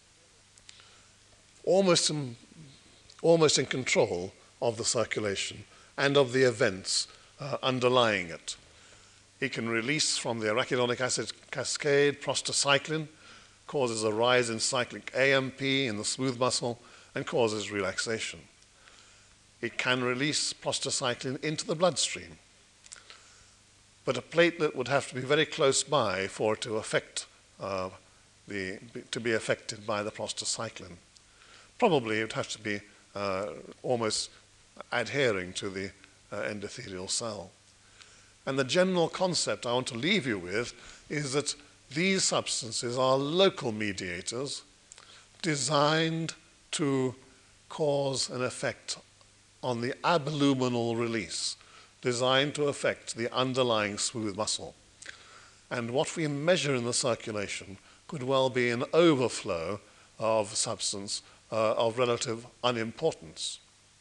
almost in, almost in control of the circulation and of the events uh, underlying it. It can release from the arachidonic acid cascade prostacyclin, causes a rise in cyclic A M P in the smooth muscle, and causes relaxation. It can release prostacyclin into the bloodstream, but a platelet would have to be very close by for it to affect uh, the, to be affected by the prostacyclin. Probably it would have to be uh, almost adhering to the uh, endothelial cell. And the general concept I want to leave you with is that these substances are local mediators designed to cause an effect on the abluminal release, designed to affect the underlying smooth muscle. And what we measure in the circulation could well be an overflow of substance uh, of relative unimportance.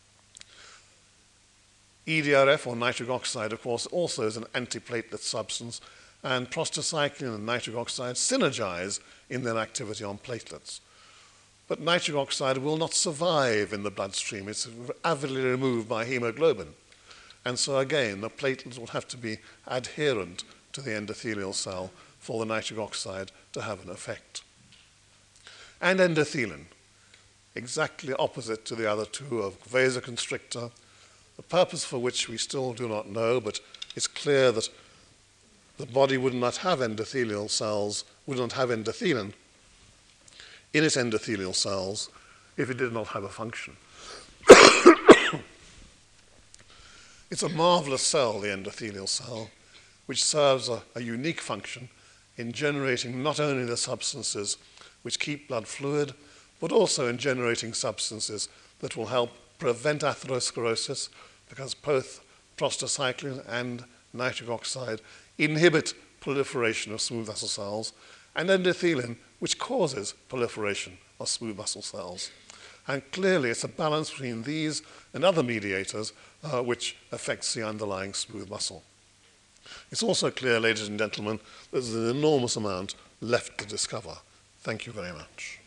E D R F, or nitric oxide, of course, also is an antiplatelet substance, and prostacyclin and nitric oxide synergize in their activity on platelets. But nitric oxide will not survive in the bloodstream. It's avidly removed by hemoglobin. And so again, the platelets will have to be adherent to the endothelial cell for the nitric oxide to have an effect. And endothelin, exactly opposite to the other two, of vasoconstrictor, the purpose for which we still do not know, but it's clear that the body would not have endothelial cells, would not have endothelin in its endothelial cells if it did not have a function. It's a marvelous cell, the endothelial cell, which serves a, a unique function in generating not only the substances which keep blood fluid, but also in generating substances that will help prevent atherosclerosis, because both prostacyclin and nitric oxide inhibit proliferation of smooth muscle cells, and endothelin, which causes proliferation of smooth muscle cells. And clearly it's a balance between these and other mediators uh, which affects the underlying smooth muscle. It's also clear, ladies and gentlemen, that there's an enormous amount left to discover. Thank you very much.